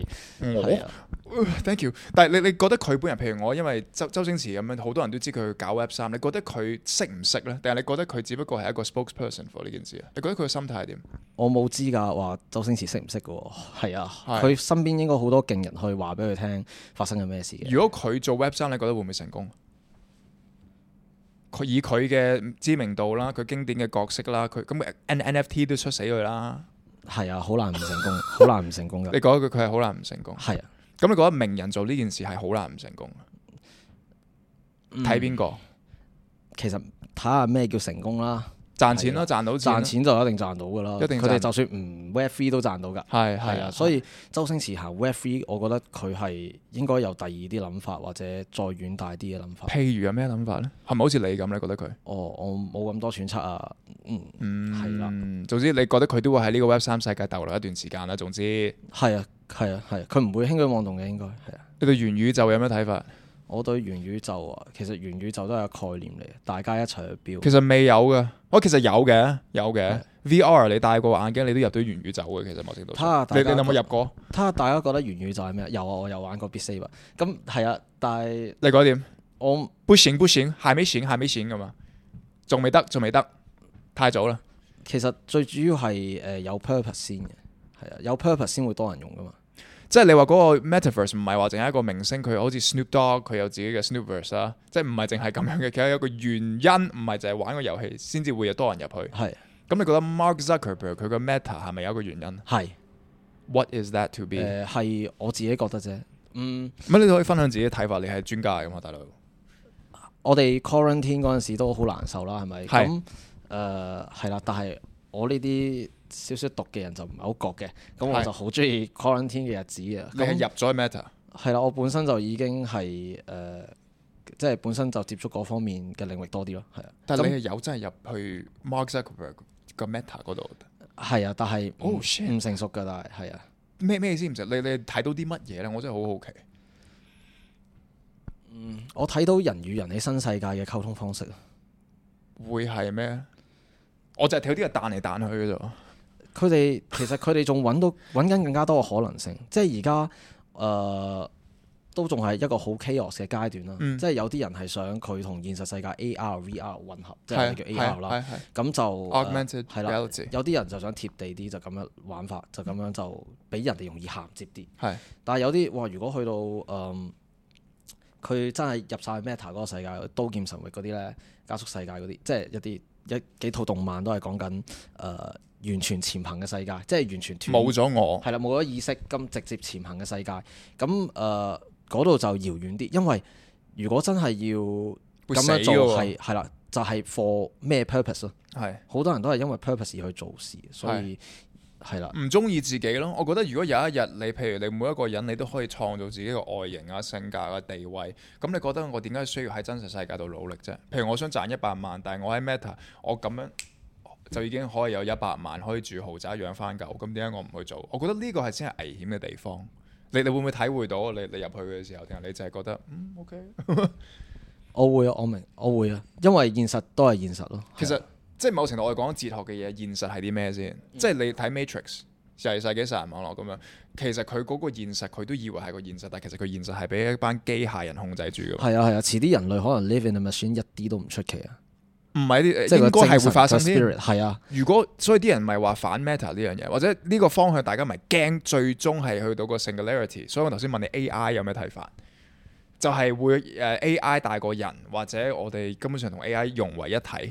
Thank you。但係你覺得佢本人，譬如我，因為周星馳咁樣，好多人都知佢搞 Web3，你覺得佢識唔識呢？定係你覺得佢只不過係一個 spokesperson for 呢件事啊？你覺得佢嘅心態係點？ 我冇知㗎，話周星馳識唔識嘅喎。係啊，佢身邊應該好多勁人去話俾佢聽發生緊咩事嘅。 如果佢做 Web3，你覺得會唔會成功？佢以佢嘅知名度啦，佢經典嘅角色啦，佢咁 NFT 都出死佢啦。係啊，好難唔成功，好難唔成功㗎。 你覺得佢係好難唔成功？係啊。咁你覺得名人做呢件事係好難唔成功？睇邊個？其實睇下咩叫成功啦。 賺錢咯，賺到錢。賺錢就一定賺到㗎啦。佢哋就算唔 Web3 都賺到㗎。係啊，所以周星馳行 Web3，我覺得佢係應該有第二啲諗法，或者再遠大啲嘅諗法。 譬如有咩諗法咧？係咪好似你咁咧？覺得佢？ 我冇咁多揣測啊。係啦。 總之你覺得佢都會喺呢個 Web3 世界逗留一段時間啦。總之係啊，佢唔會輕舉妄動嘅，應該係啊。 你對元宇宙有咩睇法？ 我對元宇宙啊，其實元宇宙都係個概念嚟，大家一齊去標。 其實未有嘅，其實有嘅。VR 你戴個眼鏡，你都入到元宇宙嘅。其實某程度上，你有冇入過？ 睇下大家覺得元宇宙係咩？有啊，我有玩過 Beat Saber。咁係啊，但係你覺得點？ 我不行，還沒醒㗎嘛，仲未得，太早啦。 其實最主要係有 purpose 先嘅，係啊，有 purpose 先會多人用㗎嘛。 即係你話嗰個 Metaverse 唔係話淨係一個明星，佢好似 Snoop Dogg 佢有自己嘅 Snoopverse 啦，即係唔係淨係咁樣嘅，其實有個原因，唔係淨係玩個遊戲先至會有多人入去。係。咁你覺得 Mark Zuckerberg 佢個 Meta 係咪有一個原因？係。What is that to be？ 係我自己覺得啫。 乜你都可以分享自己嘅睇法，你係專家嚟㗎嘛，大佬。 我哋 quarantine 嗰陣時都好難受啦，係咪？咁係啦，但係我呢啲少少毒嘅人就唔係好覺嘅，咁我就好中意 quarantine 嘅日子啊！ 你係入咗 Meta？係啦，我本身就已經係即係本身就接觸嗰方面嘅領域多啲咯，係啊。 但係你係有真係入去 Mark Zuckerberg 個 Meta 嗰度？ 係啊，但係唔成熟㗎，但係啊。 咩意思唔成？你睇到啲乜嘢咧？我真係好好奇。 我睇到人與人喺新世界嘅溝通方式啊。 會係咩？我就係睇到啲嘢彈嚟彈去嘅啫。 其實佢哋仲揾緊更加多嘅可能性，即係而家都仲係一個好 chaos 嘅階段啦。即係有啲人係想佢同現實世界 AR、VR 混合，即係叫 AR 啦。咁就 augmented 係啦 reality。 有啲人就想貼地啲，就咁樣玩法，就咁樣就俾人哋容易銜接啲。 係， 但係有啲哇，如果去到佢真係入晒 Meta 嗰個世界，刀劍神域嗰啲咧，加速世界嗰啲，即係幾套動漫都係講緊完全潛行嘅世界，即係完全冇咗我。 係啦，冇咗意識咁直接潛行嘅世界。咁嗰度就遙遠啲，因為如果真係要咁樣做係啦，就係 for 咩 purpose 咯？係好多人都係因為 purpose 而去做事，所以係啦， 唔中意自己咯。我覺得如果有一日你譬如你每一個人你都可以創造自己嘅外形啊、性格啊、地位，咁你覺得我點解需要喺真實世界度努力啫？譬如我想賺100萬，但係我喺 Meta， 我咁樣就已經可以有100萬可以住豪宅養翻狗，咁點解我唔去做？我覺得呢個係先係危險嘅地方。你會唔會體會到你入去嘅時候，定係你就係覺得OK？ 我會啊，我明，我會啊，因為現實都係現實咯。 其實即係某程度我哋講哲學嘅嘢，現實係啲咩先？即係你睇 Matrix 世紀殺人網絡咁樣，其實佢嗰個現實佢都以為係個現實，但係其實佢現實係俾一班機械人控制住嘅。係啊，遲啲人類可能 live in a machine 一啲都唔出奇啊！ 唔係啲，應該係會發生啲。 係啊， 如果所以啲人咪話反 Meta 呢樣嘢，或者呢個方向大家咪驚，最終係去到個 singularity。所以我頭先問你 AI 有咩睇法，就係會AI 大過人，或者我哋根本上同 AI 融為一體。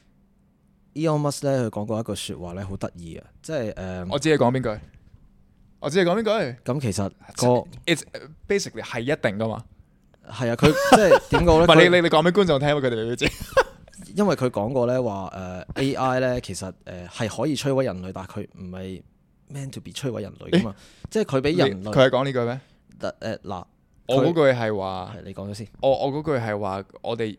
Elon Musk 咧，佢講過一句説話咧，好得意啊！即係我知你講邊句，我知你講邊句。 咁其實 It's basically 係一定噶嘛。 係啊，佢即係點講咧？ 唔係你講俾觀眾聽，佢哋未必知。 因為佢講過咧話AI 咧其實係可以摧毀人類，但係佢唔係 meant to be 摧毀人類噶嘛。即係佢俾人類。 佢係講呢句咩？ 嗱， 我嗰句係話， 你講咗先。 我嗰句係話，我哋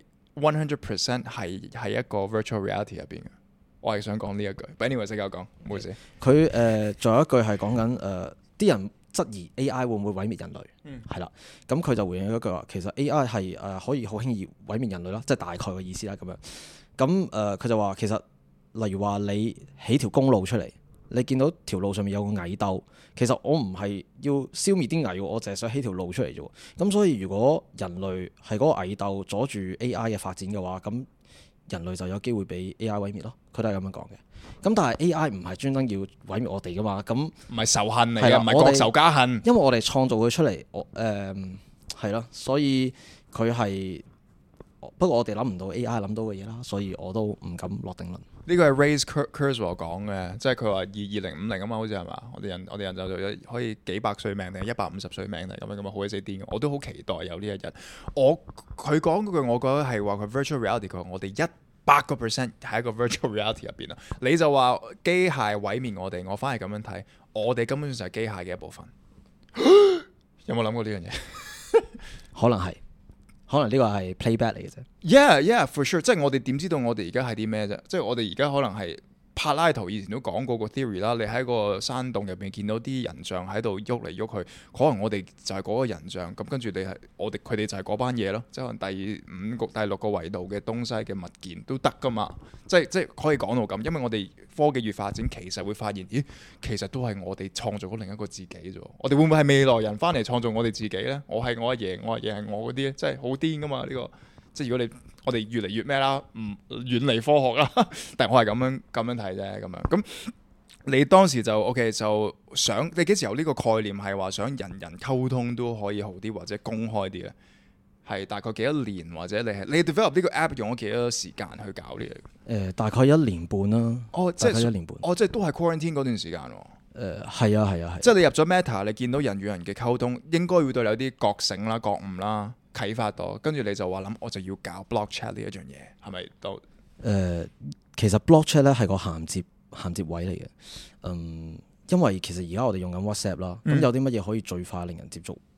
100% 係一個 virtual reality 入邊嘅。我係想講呢一句。But anyway，繼續講，唔好意思。 佢仲有一句係講緊啲人質疑 AI 會唔會毀滅人類？係啦，咁佢就回應咗一句話，其實 AI 係可以好輕易毀滅人類啦，即係大概嘅意思啦咁樣。咁佢就話其實例如話你起條公路出嚟，你見到條路上面有個蟻竇，其實我唔係要消滅啲蟻，我淨係想起條路出嚟啫。咁所以如果人類係嗰個蟻竇阻住 AI 嘅發展嘅話，咁人類就有機會俾 AI 毀滅咯。佢都係咁樣講嘅。咁但係 AI 唔係專登要毀滅我哋噶嘛？咁唔係仇恨嚟嘅，唔係國仇家恨。 因為我哋創造佢出嚟，係咯，所以佢係不過我哋諗唔到 AI 諗到嘅嘢啦，所以我都唔敢落定論。 呢個係 Ray Kurzweil 講嘅，即係佢話2050啊嘛，好似係嘛？我哋人就可以幾百歲命定係150歲命定咁樣好鬼死癲嘅。我都好期待有呢一日。佢講嗰句，我覺得係話佢 virtual reality，佢話我哋100% 喺一個 virtual reality 入邊啊。你就話機械毀滅我哋，我反而咁樣睇，我哋根本上係機械嘅一部分。有冇諗過呢樣嘢？ 可能呢個係 playback 嚟嘅啫。 Yeah, for sure。即係我哋點知道我哋而家係啲咩啫？即係我哋而家可能係柏拉圖以前都講過個 theory 啦。你喺個山洞入邊見到啲人像喺度喐嚟喐去，可能我哋就係嗰個人像。咁跟住佢哋就係嗰班嘢咯。即係可能第6個維度嘅東西嘅物件都得噶嘛。即係可以講到咁，因為我哋科技越發展，其實會發現，咦，其實都係我哋創造咗另一個自己啫。我哋會唔會係未來人翻嚟創造我哋自己呢？我係我阿爺，我阿爺係我嗰啲咧，真係好癲噶嘛呢個。即係如果我哋越嚟越咩啦，唔遠離科學啦，但係我係咁樣睇啫，咁樣。咁你當時就 OK 就想，你幾時有呢個概念係話想人人溝通都可以好啲或者公開啲咧？係大概幾多年，或者你 develop 呢個 app 用咗幾多時間去搞呢樣？ 大概1年半啦。 即係 1年半。 即係都係 quarantine 嗰段時間喎。 係啊。 即係你入咗 Meta，你見到人與人嘅溝通，應該會對你有啲覺醒啦、覺悟啦、啟發到，跟住你就話諗，我就要搞 block chat 呢一樣嘢，係咪都？ 其實 block chat 咧係個銜接位嚟嘅。因為其實而家我哋用緊 WhatsApp 啦，咁有啲乜嘢可以最快令人接觸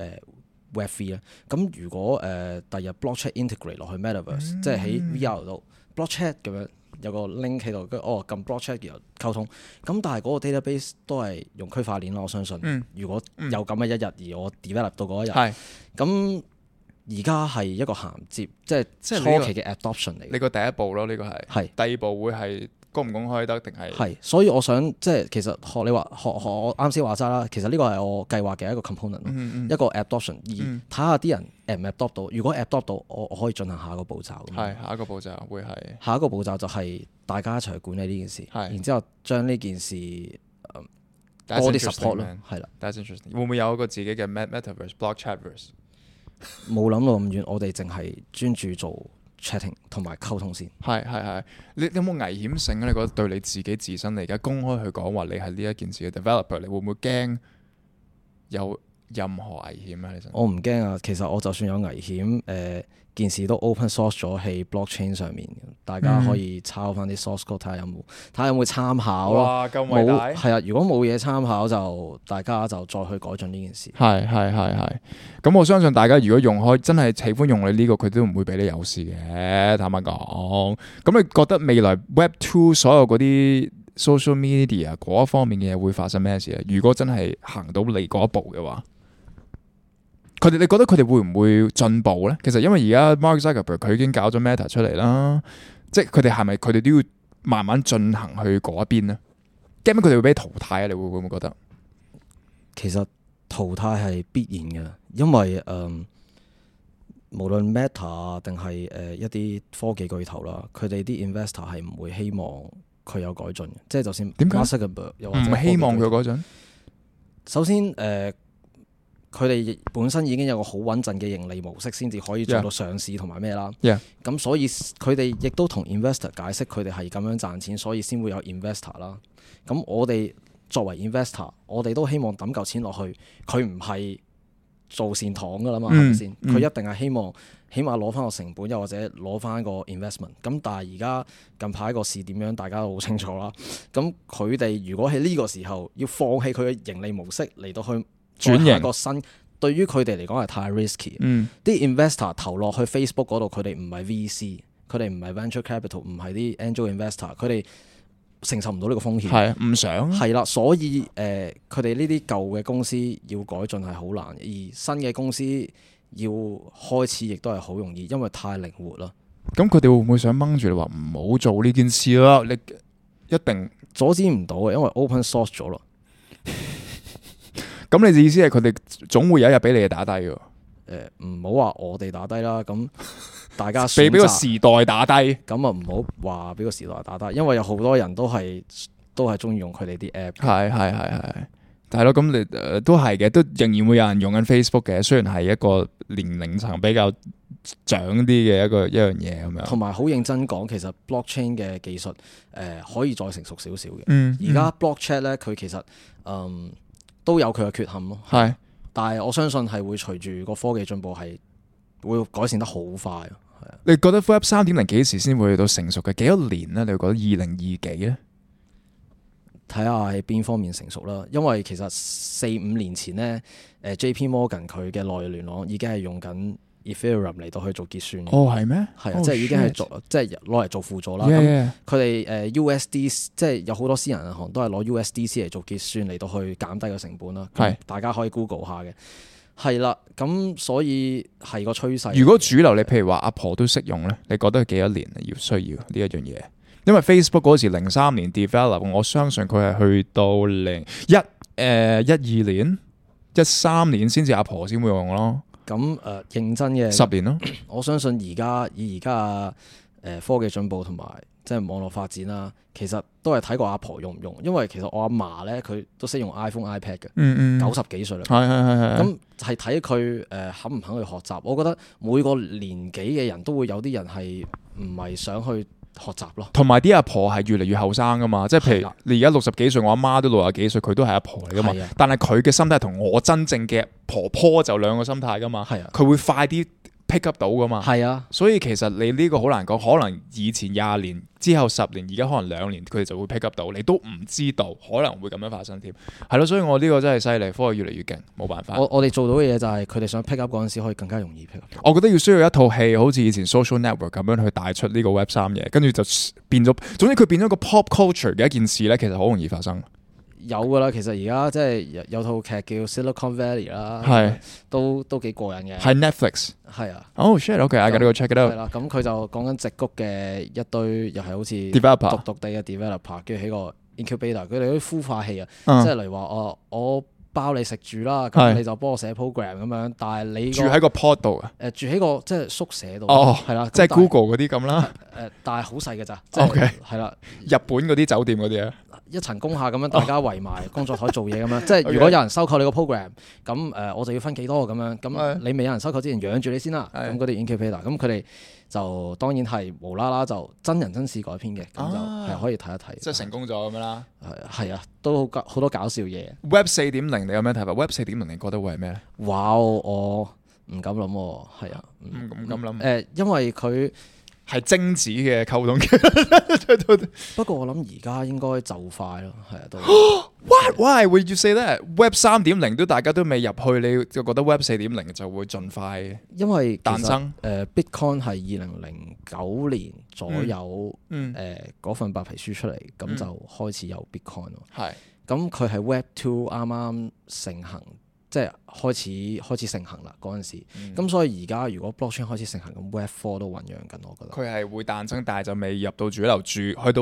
Web3 咧？咁如果第日 block chat integrate 落去 Metaverse，即係喺 VR 度 block chat 咁樣有個 link 喺度，跟住撳 block chat 然後溝通。咁但係嗰個 database 都係用區塊鏈啦，我相信。如果有咁嘅一日，而我 develop 到嗰一日，咁而家係一個銜接，即係初期嘅 adoption 嚟。 你個第一步咯，呢個係。第二步會係公唔公開得定係？ 係，所以我想即係其實學你話學我啱先話齋啦，其實呢個係我計劃嘅一個 component，一個 adoption，而睇下啲人 adopt 唔 adopt 到。如果 adopt 到，我可以進行下一個步驟。 係下一個步驟會係下一個步驟就係大家一齊去管理呢件事，然之後將呢件事多啲 support 咯，係啦。 That's interesting。會唔會有一個自己嘅 metaverse block chatverse？ 冇諗到咁遠，我哋淨係專注做 chatting 同埋溝通先。 係，你有冇危險性咧？你覺得對你自己自身，你而家公開去講話你係呢一件事嘅 developer，你會唔會驚有任何危險咧？其實我唔驚啊，其實我就算有危險，件事都 open source 咗喺 blockchain 上面，大家可以抄翻啲 source code 睇下有冇參考咯。 哇，咁偉大！ 係啊，如果冇嘢參考就大家就再去改進呢件事。 係。咁我相信大家如果用開真係喜歡用你呢個，佢都唔會俾你有事嘅。坦白講，咁你覺得未來 Web2 所有嗰啲 social media 嗰一方面嘅嘢會發生咩事咧？如果真係行到你嗰一步嘅話？你覺得佢哋會唔會進步咧？其實因為而家 Mark Zuckerberg 佢已經搞咗 Meta 出嚟啦，即係佢哋係咪佢哋都要慢慢進行去嗰一邊咧？驚唔驚佢哋會俾淘汰啊？你會唔會覺得？ 其實淘汰係必然嘅，因為無論 Meta 定係一啲科技巨頭啦，佢哋啲 investor 係唔會希望佢有改進嘅，即係就算 Mark Zuckerberg 又或者唔希望佢改進。 首先佢哋本身已經有個好穩陣嘅盈利模式，先至可以做到上市同埋咩啦。咁所以佢哋亦都同 investor 解釋佢哋係咁樣賺錢，所以先會有 investor 啦。咁我哋作為 investor，我哋都希望抌嚿錢落去，佢唔係做善堂噶啦嘛，係咪先？佢一定係希望起碼攞翻個成本，又或者攞翻個 investment。咁但係而家近排個市點樣，大家都好清楚啦。咁佢哋如果喺呢個時候要放棄佢嘅盈利模式嚟到去轉型個新，對於佢哋嚟講係太 risky。啲 investor 投落去 Facebook 嗰度，佢哋唔係 VC，佢哋唔係 venture capital，唔係啲 angel investor，佢哋承受唔到呢個風險。 係唔想係啦，所以佢哋呢啲舊嘅公司要改進係好難，而新嘅公司要開始亦都係好容易，因為太靈活啦。 咁佢哋會唔會想掹住你話唔好做呢件事啦？你一定阻止唔到嘅，因為 open source 咗啦。 咁你嘅意思係佢哋總會有一日俾你哋打低嘅？ 唔好話我哋打低啦，咁大家俾個時代打低， 咁啊唔好話俾個時代打低，因為有好多人都係中意用佢哋啲 app。 係咯，咁你都係嘅，都仍然會有人用緊 Facebook 嘅，雖然係一個年齡層比較長啲嘅一樣嘢咁樣。 同埋好認真講，其實 blockchain 嘅技術可以再成熟少少嘅。而家 blockchain 咧，佢其實都有佢嘅缺陷咯。係，但係我相信係會隨住個科技進步係會改善得好快。係啊， 你覺得 Web 3.0幾時先會去到成熟嘅？幾多年咧？你會覺得2020幾咧？ 睇下喺邊方面成熟啦。因為其實4-5年前咧，JP Morgan 佢嘅內聯網已經係用緊 Ethereum 嚟到去做結算。 哦，係咩？ 係啊，即係已經係做，即係攞嚟做輔助啦。咁佢哋USD 即係有好多私人銀行都係攞 USDC 嚟做結算嚟到去減低個成本啦。係，大家可以 Google 下嘅。係啦，咁所以係個趨勢。 如果主流你譬如話阿婆都識用咧，你覺得幾多年要需要呢一樣嘢？因為 Facebook 嗰時03年 develop， 我相信佢係去到12年、13年先至阿婆先會用咯。 咁認真嘅 10年咯。 我相信而家科技進步同埋即係網絡發展啦，其實都係睇過阿婆用唔用。因為其實我阿嫲咧，佢都識用 iPhone、iPad 嘅，90幾歲啦。係。咁係睇佢肯唔肯去學習。我覺得每個年紀嘅人都會有啲人係唔係想去學習咯，同埋啲阿婆係越嚟越後生噶嘛，即係譬如你而家60幾歲，我阿媽都60幾歲，佢都係阿婆嚟噶嘛，但係佢嘅心態同我真正嘅婆婆就兩個心態噶嘛，佢會快啲 pick up 到噶嘛，所以其實你呢個好難講，可能以前20年之後10年，而家可能2年佢哋就會 pick up 到，你都唔知道可能會咁樣發生添，係咯，所以我呢個真係犀利，科技越嚟越勁，冇辦法。 我哋做到嘅嘢就係佢哋想 pick up 嗰陣時可以更加容易 pick up。 我覺得要需要一套戲，好似以前 social network 咁樣去帶出呢個 Web 3嘢，跟住就變咗，總之佢變咗個 pop culture 嘅一件事咧，其實好容易發生。 有噶啦，其實而家即係有套劇叫 Silicon Valley 啦， 係都幾過癮嘅。 係 Netflix。 係啊。 Oh shit！OK，I gotta go check it 係 out。 啦，咁佢就講緊矽谷嘅一堆又係好似 Developer 獨地嘅 developer，跟住起個 incubator，佢哋嗰啲孵化器啊， 嗯即係例如話我包你食住啦， 係咁你就幫我寫 program 咁樣，但係你住喺個 pod 度啊。 住喺個即係宿舍度， 哦， 係啦， 即係咁但係 Google 嗰啲咁啦。 但係好細嘅咋，即係 OK 係啦， 日本嗰啲酒店嗰啲啊。 一層工廈咁樣，大家圍埋工作台做嘢咁樣，即係 OK 如果有人收購你個 program，咁我就要分幾多咁樣，咁係你未有人收購之前養住你先啦， 係咁嗰啲 incubator，咁佢哋就當然係無啦啦就真人真事改編嘅，咁就係可以睇一睇， 即係成功咗咁樣啦。 係啊，都好多搞笑嘢。 Web 4.0你有咩睇法？Web 4.0你覺得會係咩咧？ 哇！我唔敢諗喎，係啊， 唔敢諗。 因為佢係精子嘅溝通嘅。 不過我諗而家應該就快咯，係啊都。 What? Why would you say that? Web 3.0都大家都未入去，你就覺得 Web 4.0就會盡快因為誕生 Bitcoin 係2009年左右嗰份白皮書出嚟，咁就開始有 Bitcoin 咯。 係咁佢係 Web 2啱啱盛行，即係開始盛行啦嗰陣時。咁所以而家如果 blockchain 開始盛行，咁 Web 4都醖釀緊，我覺得。 佢係會誕生，但係就未入到主流住，去到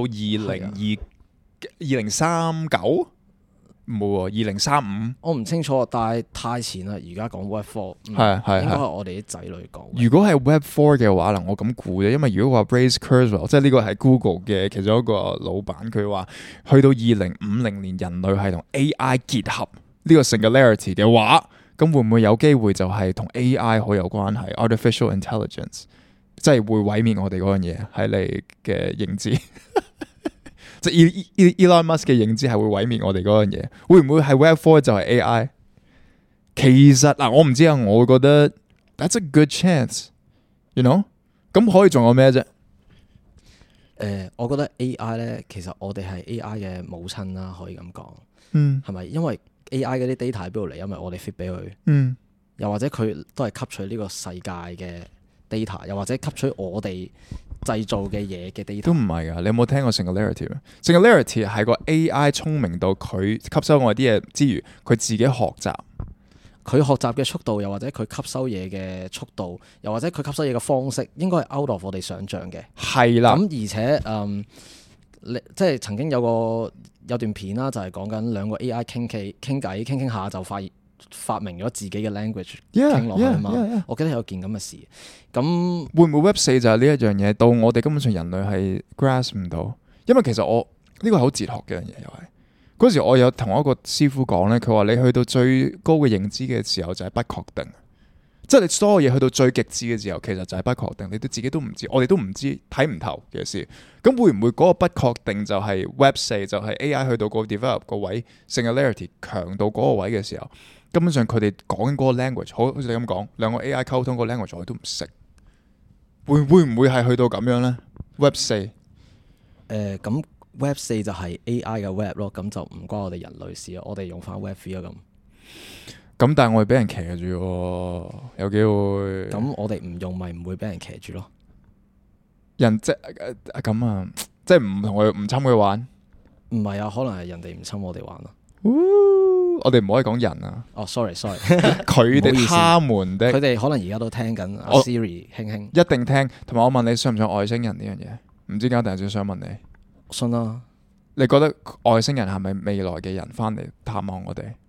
2039唔會喎，2035。 我唔清楚，但係太前啦。而家講 Web 4， 係應該係我哋啲仔女講。 如果係 Web 4嘅話，嗱我咁估啫，因為如果話 Ray Kurzweil，即係呢個係 Google 嘅其中一個老闆，佢話去到2050年人類係同 AI 結合呢個 singularity 嘅話，咁會唔會有機會就係同 AI 好有關係 ？Artificial intelligence，即係會毀滅我哋嗰樣嘢喺你嘅認知。即係 Elon Musk 嘅認知係會毀滅我哋嗰樣嘢，會唔會係 Web 4就係 AI？其實嗱，我唔知啊，我會覺得 that's a good chance，you know？咁可以仲有咩啫？ 我覺得 AI 咧，其實我哋係 AI 嘅母親啦，可以咁講。係咪？因為 AI 嗰啲 data 喺邊度嚟？因為我哋 feed 俾佢。又或者佢都係吸取呢個世界嘅 data，又或者吸取我哋製造嘅嘢嘅 data 都唔係噶，你有冇聽過 singularity？singularity 係個 AI 聰明到佢吸收我啲嘢之餘，佢自己學習。 佢學習嘅速度，又或者佢吸收嘢嘅速度，又或者佢吸收嘢嘅方式，應該係 out of 我哋想象嘅。 係啦。 咁而且即係曾經有段片啦，就係講緊兩個 AI 傾下就發明咗自己嘅 language 傾落去啊嘛。我記得有件咁嘅事。咁會唔會 Web 4就係呢一樣嘢？到我哋根本上人類係 grasp 唔到，因為其實我呢個係好哲學嘅樣嘢，又係嗰時我有同一個師傅講咧，佢話你去到最高嘅認知嘅時候就係不確定，即係你所有嘢去到最極致嘅時候，其實就係不確定，你自己都唔知，我哋都唔知睇唔透嘅事。咁會唔會嗰個不確定就係 Web 4就係 AI 去到個 develop 個位 singularity 強到嗰個位嘅時候，根本上佢哋講緊嗰個 language，好似你咁講，兩個 AI 溝通個 language 我哋都唔識，會唔會係去到咁樣咧 ？Web 4 咁 Web 4就係 AI 嘅 Web 咯，咁就唔關我哋人類事啊，我哋用翻 Web 3啊咁，但係我哋俾人騎住喎，有機會。 咁我哋唔用咪唔會俾人騎住咯。 人即咁啊，即係唔同佢唔侵佢玩。 唔係啊，可能係人哋唔侵我哋玩啊。 我哋唔可以講人啊。 哦，sorry， 佢哋他們的， 佢哋可能而家都聽緊 Siri 輕一定聽。同埋我問你，信唔信外星人呢樣嘢？唔知點解突然之間想問你。 信啦。 你覺得外星人係咪未來嘅人翻嚟探望我哋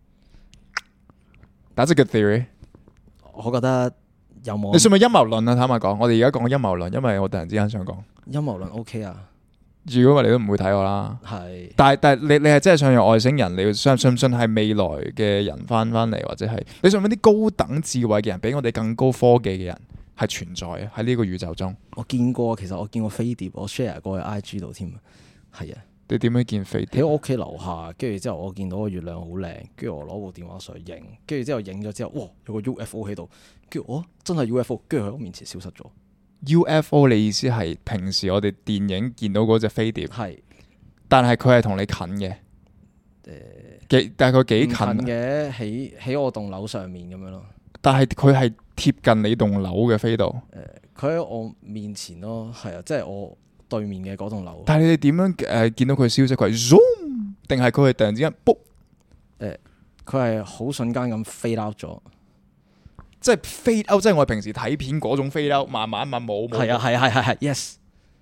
？That's a good theory。 我覺得有冇？ 你信唔信陰謀論啊？坦白講，我哋而家講陰謀論，因為我突然之間想講陰謀論 OK 啊。 如果我哋都唔會睇我啦。 係。但係你係真係想有外星人？你信唔信係未來嘅人翻嚟，或者係你信唔信啲高等智慧嘅人，比我哋更高科技嘅人係存在啊？喺呢個宇宙中， 我見過，其實我見過飛碟，我 share 過去 IG 度添。係啊。 你點樣見飛碟？ 喺我屋企樓下，跟住之後我見到個月亮好靚，跟住我攞部電話上去影，跟住之後影咗之後，哇，有個 UFO 喺度，跟住我真係 UFO，跟住喺我面前消失咗。 UFO 你意思係平時我哋電影見到嗰隻飛碟？ 係， 但係佢係同你近嘅。大概幾近嘅？喺我棟樓上面咁樣咯。 但係佢係貼近你棟樓嘅飛度。 佢喺我面前咯，係啊，即係我對面嘅嗰棟樓。 但係你哋點樣見到佢消息？佢係 zoom 定係佢係突然之間卜？ 佢係好瞬間咁 fade out 咗。 即係 fade out，即係我哋平時睇片嗰種 fade out，慢慢冇。 係啊 yes。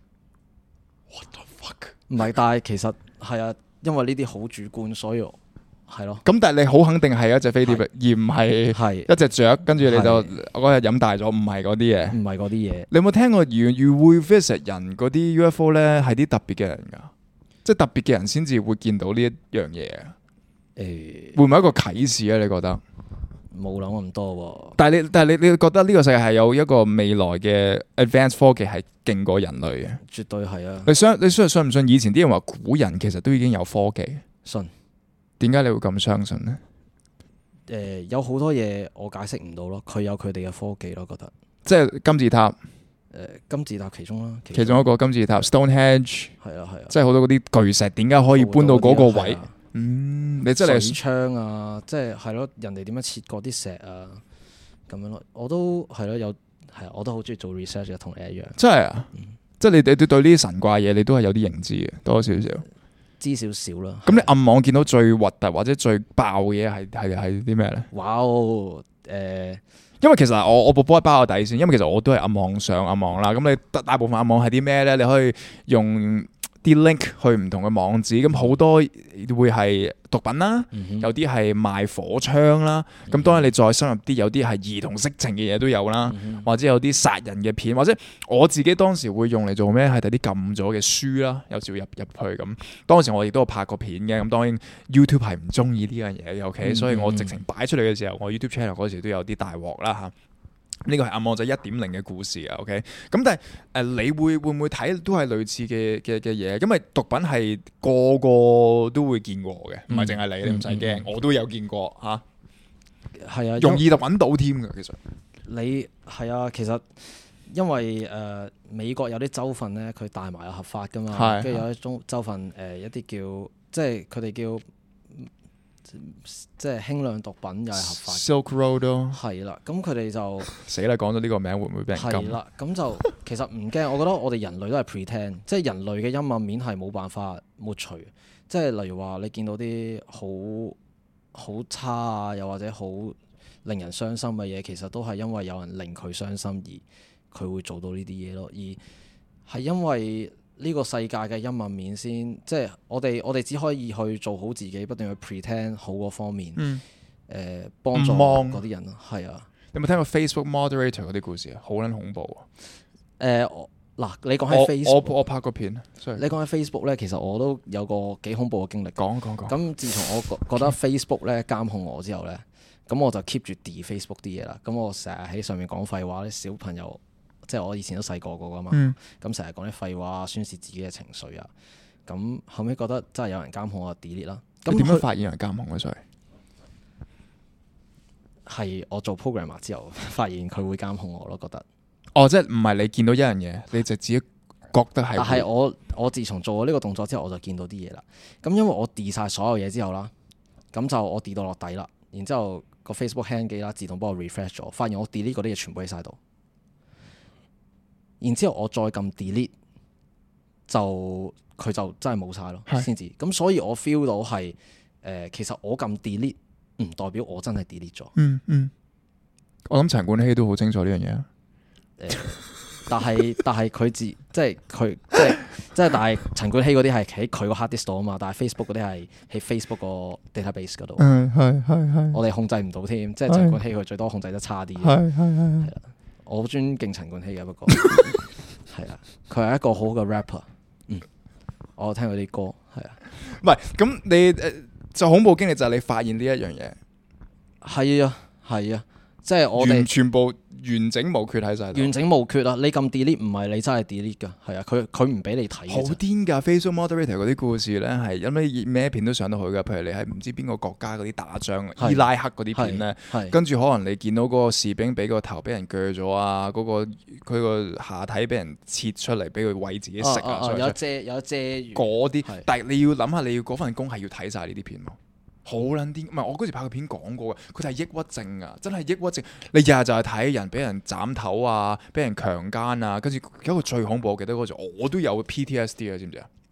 What the fuck？ 唔係，但係其實係啊，因為呢啲好主觀，所以係咯。 咁但係你好肯定係一隻飛碟，而唔係一隻雀，跟住你就嗰日飲大咗，唔係嗰啲嘢。 唔係嗰啲嘢。 你有冇聽過如會 visit 人嗰啲 UFO 咧？係啲特別嘅人㗎，即係特別嘅人先至會見到呢一樣嘢啊。會唔會一個啟示啊？你覺得？ 冇諗咁多喎。 但係你覺得呢個世界係有一個未來嘅 advanced 科技係勁過人類嘅？ 絕對係啊！ 你信唔信？以前啲人話古人其實都已經有科技。 信。 點解你會咁相信呢？ 有好多嘢我解釋唔到咯，佢有佢哋嘅科技咯，覺得。 即係金字塔。 金字塔其中啦。 其中一個金字塔 Stonehenge。係啊。 即係好多嗰啲巨石，點解可以搬到嗰個位？你真係水槍啊，即係咯，人哋點樣切過啲石啊，咁樣咯，我都係咯，我都好中意做 research 嘅，同你一樣。 真係啊，即係你對呢啲神怪嘢，你都係有啲認知嘅，多少少。 知少少啦。 咁你暗網見到最核突或者最爆嘅嘢係啲咩咧？ 哇哦， 因為其實我部波係包我底線，因為其實我都係暗網上暗網啦。咁你大部分暗網係啲咩咧？你可以用啲 link 去唔同嘅網址，咁好多會係毒品啦，有啲係賣火槍啦，咁當然你再深入啲，有啲係兒童色情嘅嘢都有啦，或者有啲殺人嘅片，或者我自己當時會用嚟做咩？係睇啲禁咗嘅書啦，有時會入去咁。當時我亦都有拍過片嘅，咁當然 YouTube 係唔中意呢樣嘢嘅，OK，所以我直情擺出嚟嘅時候，我 YouTube channel 嗰時都有啲大鑊啦嚇。呢個係暗網仔 1.0 嘅故事啊 ，OK。咁但係你會唔會睇都係類似嘅嘢？因為毒品係個個都會見過嘅，唔係淨係你唔使驚，我都有見過嚇。係啊，容易就揾到添㗎，其實。 你係啊，其實因為美國有啲州份咧，佢大麻有合法㗎嘛，跟住有啲州份一啲叫即係佢哋叫。即係輕量毒品又係合法 Silk Road 咯， 係啦，咁佢哋就死啦！講咗呢個名會唔會俾人禁？ 係啦，咁就其實唔驚，我覺得我哋人類都係 pretend，即係人類嘅陰暗面係冇辦法抹除，即係例如話你見到啲好差啊，又或者好令人傷心嘅嘢，其實都係因為有人令佢傷心而佢會做到呢啲嘢咯，而係因為。呢個世界嘅陰暗面先，即係我哋只可以去做好自己，不斷去 pretend 好嗰方面，幫助嗰啲人咯，係啊。 有冇聽過 Facebook moderator 嗰啲故事啊？好撚恐怖啊！ 嗱，你講起 Facebook， 我拍過片。 你講起 Facebook 咧，其實我都有個幾恐怖嘅經歷。 講。 咁自從我覺得 Facebook 咧監控我之後咧，咁我就 keep 住 delete Facebook 啲嘢啦。咁我成日喺上面講廢話，啲小朋友。即係我以前都細個過噶嘛，咁成日講啲廢話，宣泄自己嘅情緒啊。咁後尾覺得真係有人監控我，就 delete 啦。 咁點樣發現有人監控嘅？所以係我做 programmer 之後發現佢會監控我咯，覺得。 哦，即係唔係你見到一樣嘢，你就自己覺得係。 但係我自從做咗呢個動作之後，我就見到啲嘢啦。咁因為我 delete 晒所有嘢之後啦，咁就我 delete到落底啦。然之後個 Facebook hang 機啦，自動幫我 refresh 咗，發現我 delete 嗰啲嘢全部喺晒度。然之後我再撳 delete，就佢就真係冇晒咯，先至。咁所以我 feel 到係其實我撳 delete 唔代表我真係 delete 咗。 我諗陳冠希都好清楚呢樣嘢啊。 但係佢即係但係陳冠希嗰啲係喺佢個 hard disk 度啊嘛，但係 Facebook 嗰啲係喺 Facebook 個 database 嗰度。係。我哋控制唔到添，即係陳冠希佢最多控制得差啲。係啦。我好尊敬陳冠希嘅，不過係啊，佢係一個好好嘅 rapper。我聽佢啲歌，係啊。 唔係咁，你就恐怖經歷就係你發現呢一樣嘢。 係啊，即係我哋全部完整無缺喺晒度。 完整無缺啊！你撳 delete 唔係你真係 delete 㗎，係啊，佢唔俾你睇。 好癲㗎 ！Facebook moderator 嗰啲故事咧係因為咩片都上到去㗎，譬如你喺唔知邊個國家嗰啲打仗，伊拉克嗰啲片咧，跟住可能你見到嗰個士兵俾個頭俾人鋸咗啊，嗰個佢個下體俾人切出嚟俾佢餵自己食啊， 有遮嗰啲。但係你要諗下，你要嗰份工係要睇晒呢啲片喎。好撚癲，唔係我嗰時拍個片講過嘅，佢就係抑鬱症啊，真係抑鬱症。你日日就係睇人俾人斬頭啊，俾人強姦啊，跟住有一個最恐怖，我記得嗰陣我都有 PTSD 啊，知唔知啊？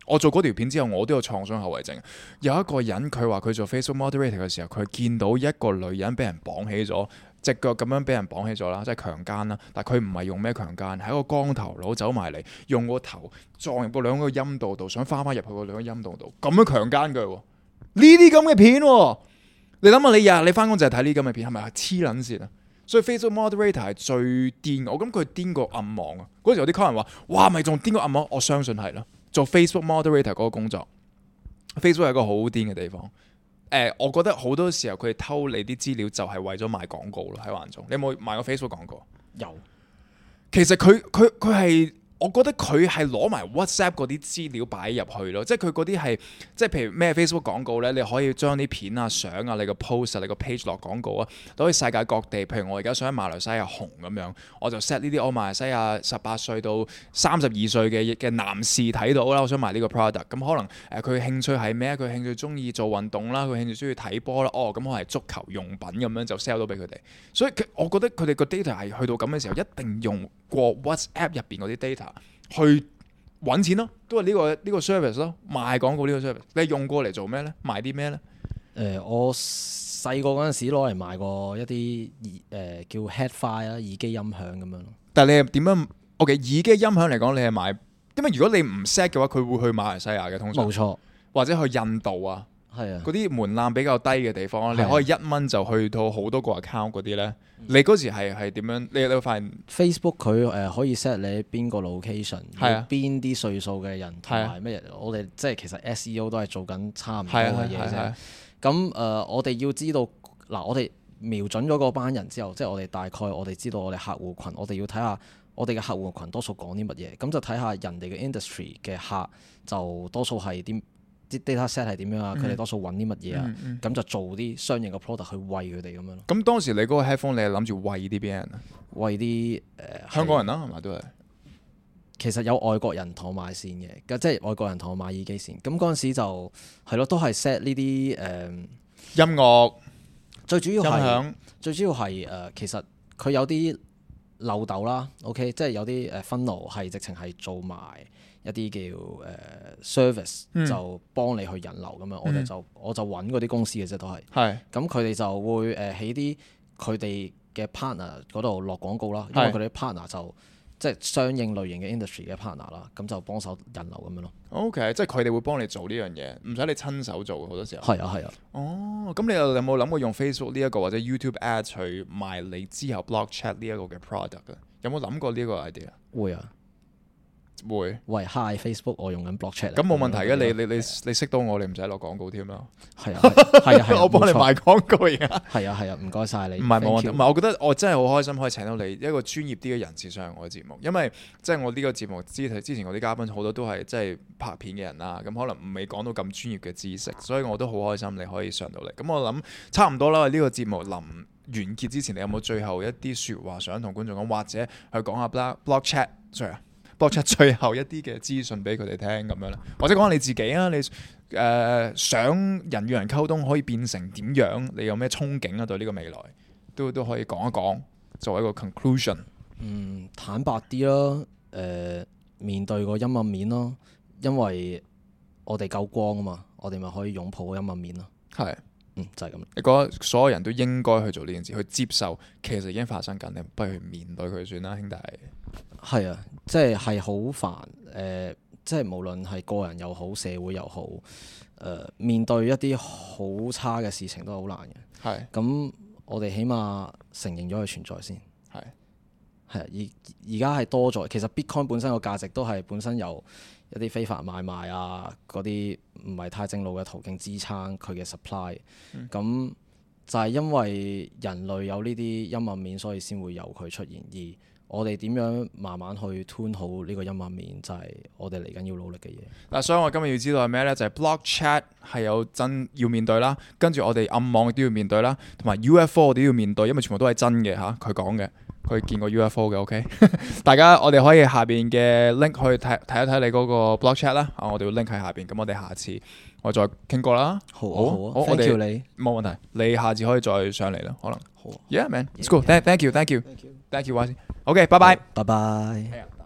我做嗰條片之後，我都有創傷後遺症。有一個人佢話佢做 Facebook moderator 嘅時候，佢見到一個女人俾人綁起咗，隻腳咁樣俾人綁起咗啦，即係強姦啦。但係佢唔係用咩強姦，係一個光頭佬走埋嚟，用個頭撞入個兩個陰道度，想翻入去個兩個陰道度，咁樣強姦佢。呢啲咁嘅片，你諗下，你日日你翻工就係睇呢啲咁嘅片，係咪黐撚線啊？所以 Facebook moderator 係最癲，我諗佢癲過暗網啊！嗰時有啲 comment 話：哇，咪仲癲過暗網？我相信係啦。做 Facebook moderator 嗰個工作，Facebook 係一個好癲嘅地方。我覺得好多時候佢哋偷你啲資料就係為咗賣廣告咯，喺環中。你有冇賣過 Facebook 廣告？ 有。 其實佢係。我覺得佢係攞埋 WhatsApp 嗰啲資料擺入去咯，即係佢嗰啲係，即係譬如咩 Facebook 廣告咧，你可以將啲片啊、相啊、你個 post 啊、你個 page 落廣告啊，都可以世界各地。譬如我而家想喺馬來西亞紅咁樣，我就 set 呢啲我馬來西亞18歲到32歲嘅男士睇到啦，我想賣呢個 product。咁可能佢興趣係咩？佢興趣中意做運動啦，佢興趣中意睇波啦。哦，咁我係足球用品咁樣就 sell 到俾佢哋。所以我覺得佢哋個 data 係去到咁嘅時候，一定用過 WhatsApp 入邊嗰啲 data。去揾錢咯，都係呢個 service 咯，賣廣告呢個 service。你用過嚟做咩咧？賣啲咩咧？ 我細個嗰陣時攞嚟賣過一啲叫 headphone 啊，耳機音響咁樣咯。 但係你係點樣？OK， 耳機音響嚟講，你係賣，因為如果你唔 set 嘅話，佢會去馬來西亞嘅通常。 冇錯。或者去印度啊。 係啊。 嗰啲門檻比較低嘅地方，你可以1蚊就去到好多個 account 嗰啲咧。你嗰時係點樣？你有發現 Facebook 佢可以 set 你邊個 location，邊啲歲數嘅人同埋乜嘢？我哋即係其實 SEO 都係做緊差唔多嘅嘢啫。咁我哋要知道嗱，我哋瞄準咗嗰班人之後，即係我哋大概我哋知道我哋客戶群，我哋要睇下我哋嘅客戶群多數講啲乜嘢，咁就睇下人哋嘅 industry 嘅客就多數係啲 data set 係點樣啊？佢哋多數揾啲乜嘢啊？咁就做啲相應嘅 product 去餵佢哋咁樣咯。 咁當時你嗰個 headphone 你係諗住餵啲邊人啊？ 餵啲香港人啦，係咪都係？ 其實有外國人同我買線嘅，即係外國人同我買耳機線。咁嗰陣時就係咯，都係 set 呢啲音樂。 最主要係其實佢有啲漏斗啦，OK， 即係有啲funnel係直情係做埋一啲叫service，就幫你去引流咁樣。我就揾嗰啲公司嘅啫，都係。係。咁佢哋就會喺啲佢哋嘅 partner 嗰度落廣告啦，因為佢哋 partner 就即係相應類型嘅 industry 嘅 partner 啦，咁就幫手引流咁樣咯。 OK， 即係佢哋會幫你做呢樣嘢，唔使你親手做好多時候。 係啊係啊。 哦，咁你有冇諗過用 Facebook 呢一個或者 YouTube Ads 去賣你之後 Block Chat 呢一個嘅 product 啊？有冇諗過呢個 idea？ 會啊。 會。 喂 ，Hi Facebook， 我用緊 Block Chat。咁冇問題嘅，你識到我，你唔使落廣告添啦。 係啊， 我幫你賣廣告而家。 係啊，唔該晒你。 唔係冇問題，唔係我覺得我真係好開心可以請到你一個專業啲嘅人士上我嘅節目，因為即係我呢個節目之前我啲嘉賓好多都係即係拍片嘅人啦，咁可能未講到咁專業嘅知識，所以我都好開心你可以上到嚟。咁我諗差唔多啦，呢個節目臨完結之前，你有冇最後一啲説話想同觀眾講，或者去講下 Block Chat，Block Chat 最後一啲嘅資訊俾佢哋聽咁樣咧，或者講下你自己啊，你想人與人溝通可以變成點樣？你有咩憧憬啊？對呢個未來都可以講一講，作為一個 conclusion。 坦白啲咯，面對個陰暗面咯，因為我哋夠光啊嘛，我哋咪可以擁抱個陰暗面咯。係。就係咁。 你覺得所有人都應該去做呢件事，去接受其實已經發生緊，你不如去面對佢算啦，兄弟。 係啊，即係好煩。即係無論係個人又好，社會又好，面對一啲好差嘅事情都係好難嘅。係。咁我哋起碼承認咗佢存在先。係。係啊，而家係多咗。其實 Bitcoin 本身個價值都係本身有一啲非法買賣啊，嗰啲唔係太正路嘅途徑支撐佢嘅 supply。咁就係因為人類有呢啲陰暗面，所以先會有佢出現。而我哋點樣慢慢去 tune 好呢個陰暗面，就係我哋嚟緊要努力嘅嘢。嗱， 所以我今日要知道係咩呢？就係 Block Chat 係有真要面對啦，跟住我哋暗網都要面對啦，同埋 UFO 我哋都要面對，因為全部都係真嘅嚇，佢講嘅。佢見過 UFO 嘅 OK， 大家我哋可以下邊嘅 link 去睇一睇你嗰個 Block Chat 啦。我哋會 link 喺下邊，咁我哋下次我再傾過啦。好，我哋冇問題，你下次可以再上嚟啦，可能。好。Yeah man，it's cool。Thank you，OK，拜拜。拜拜。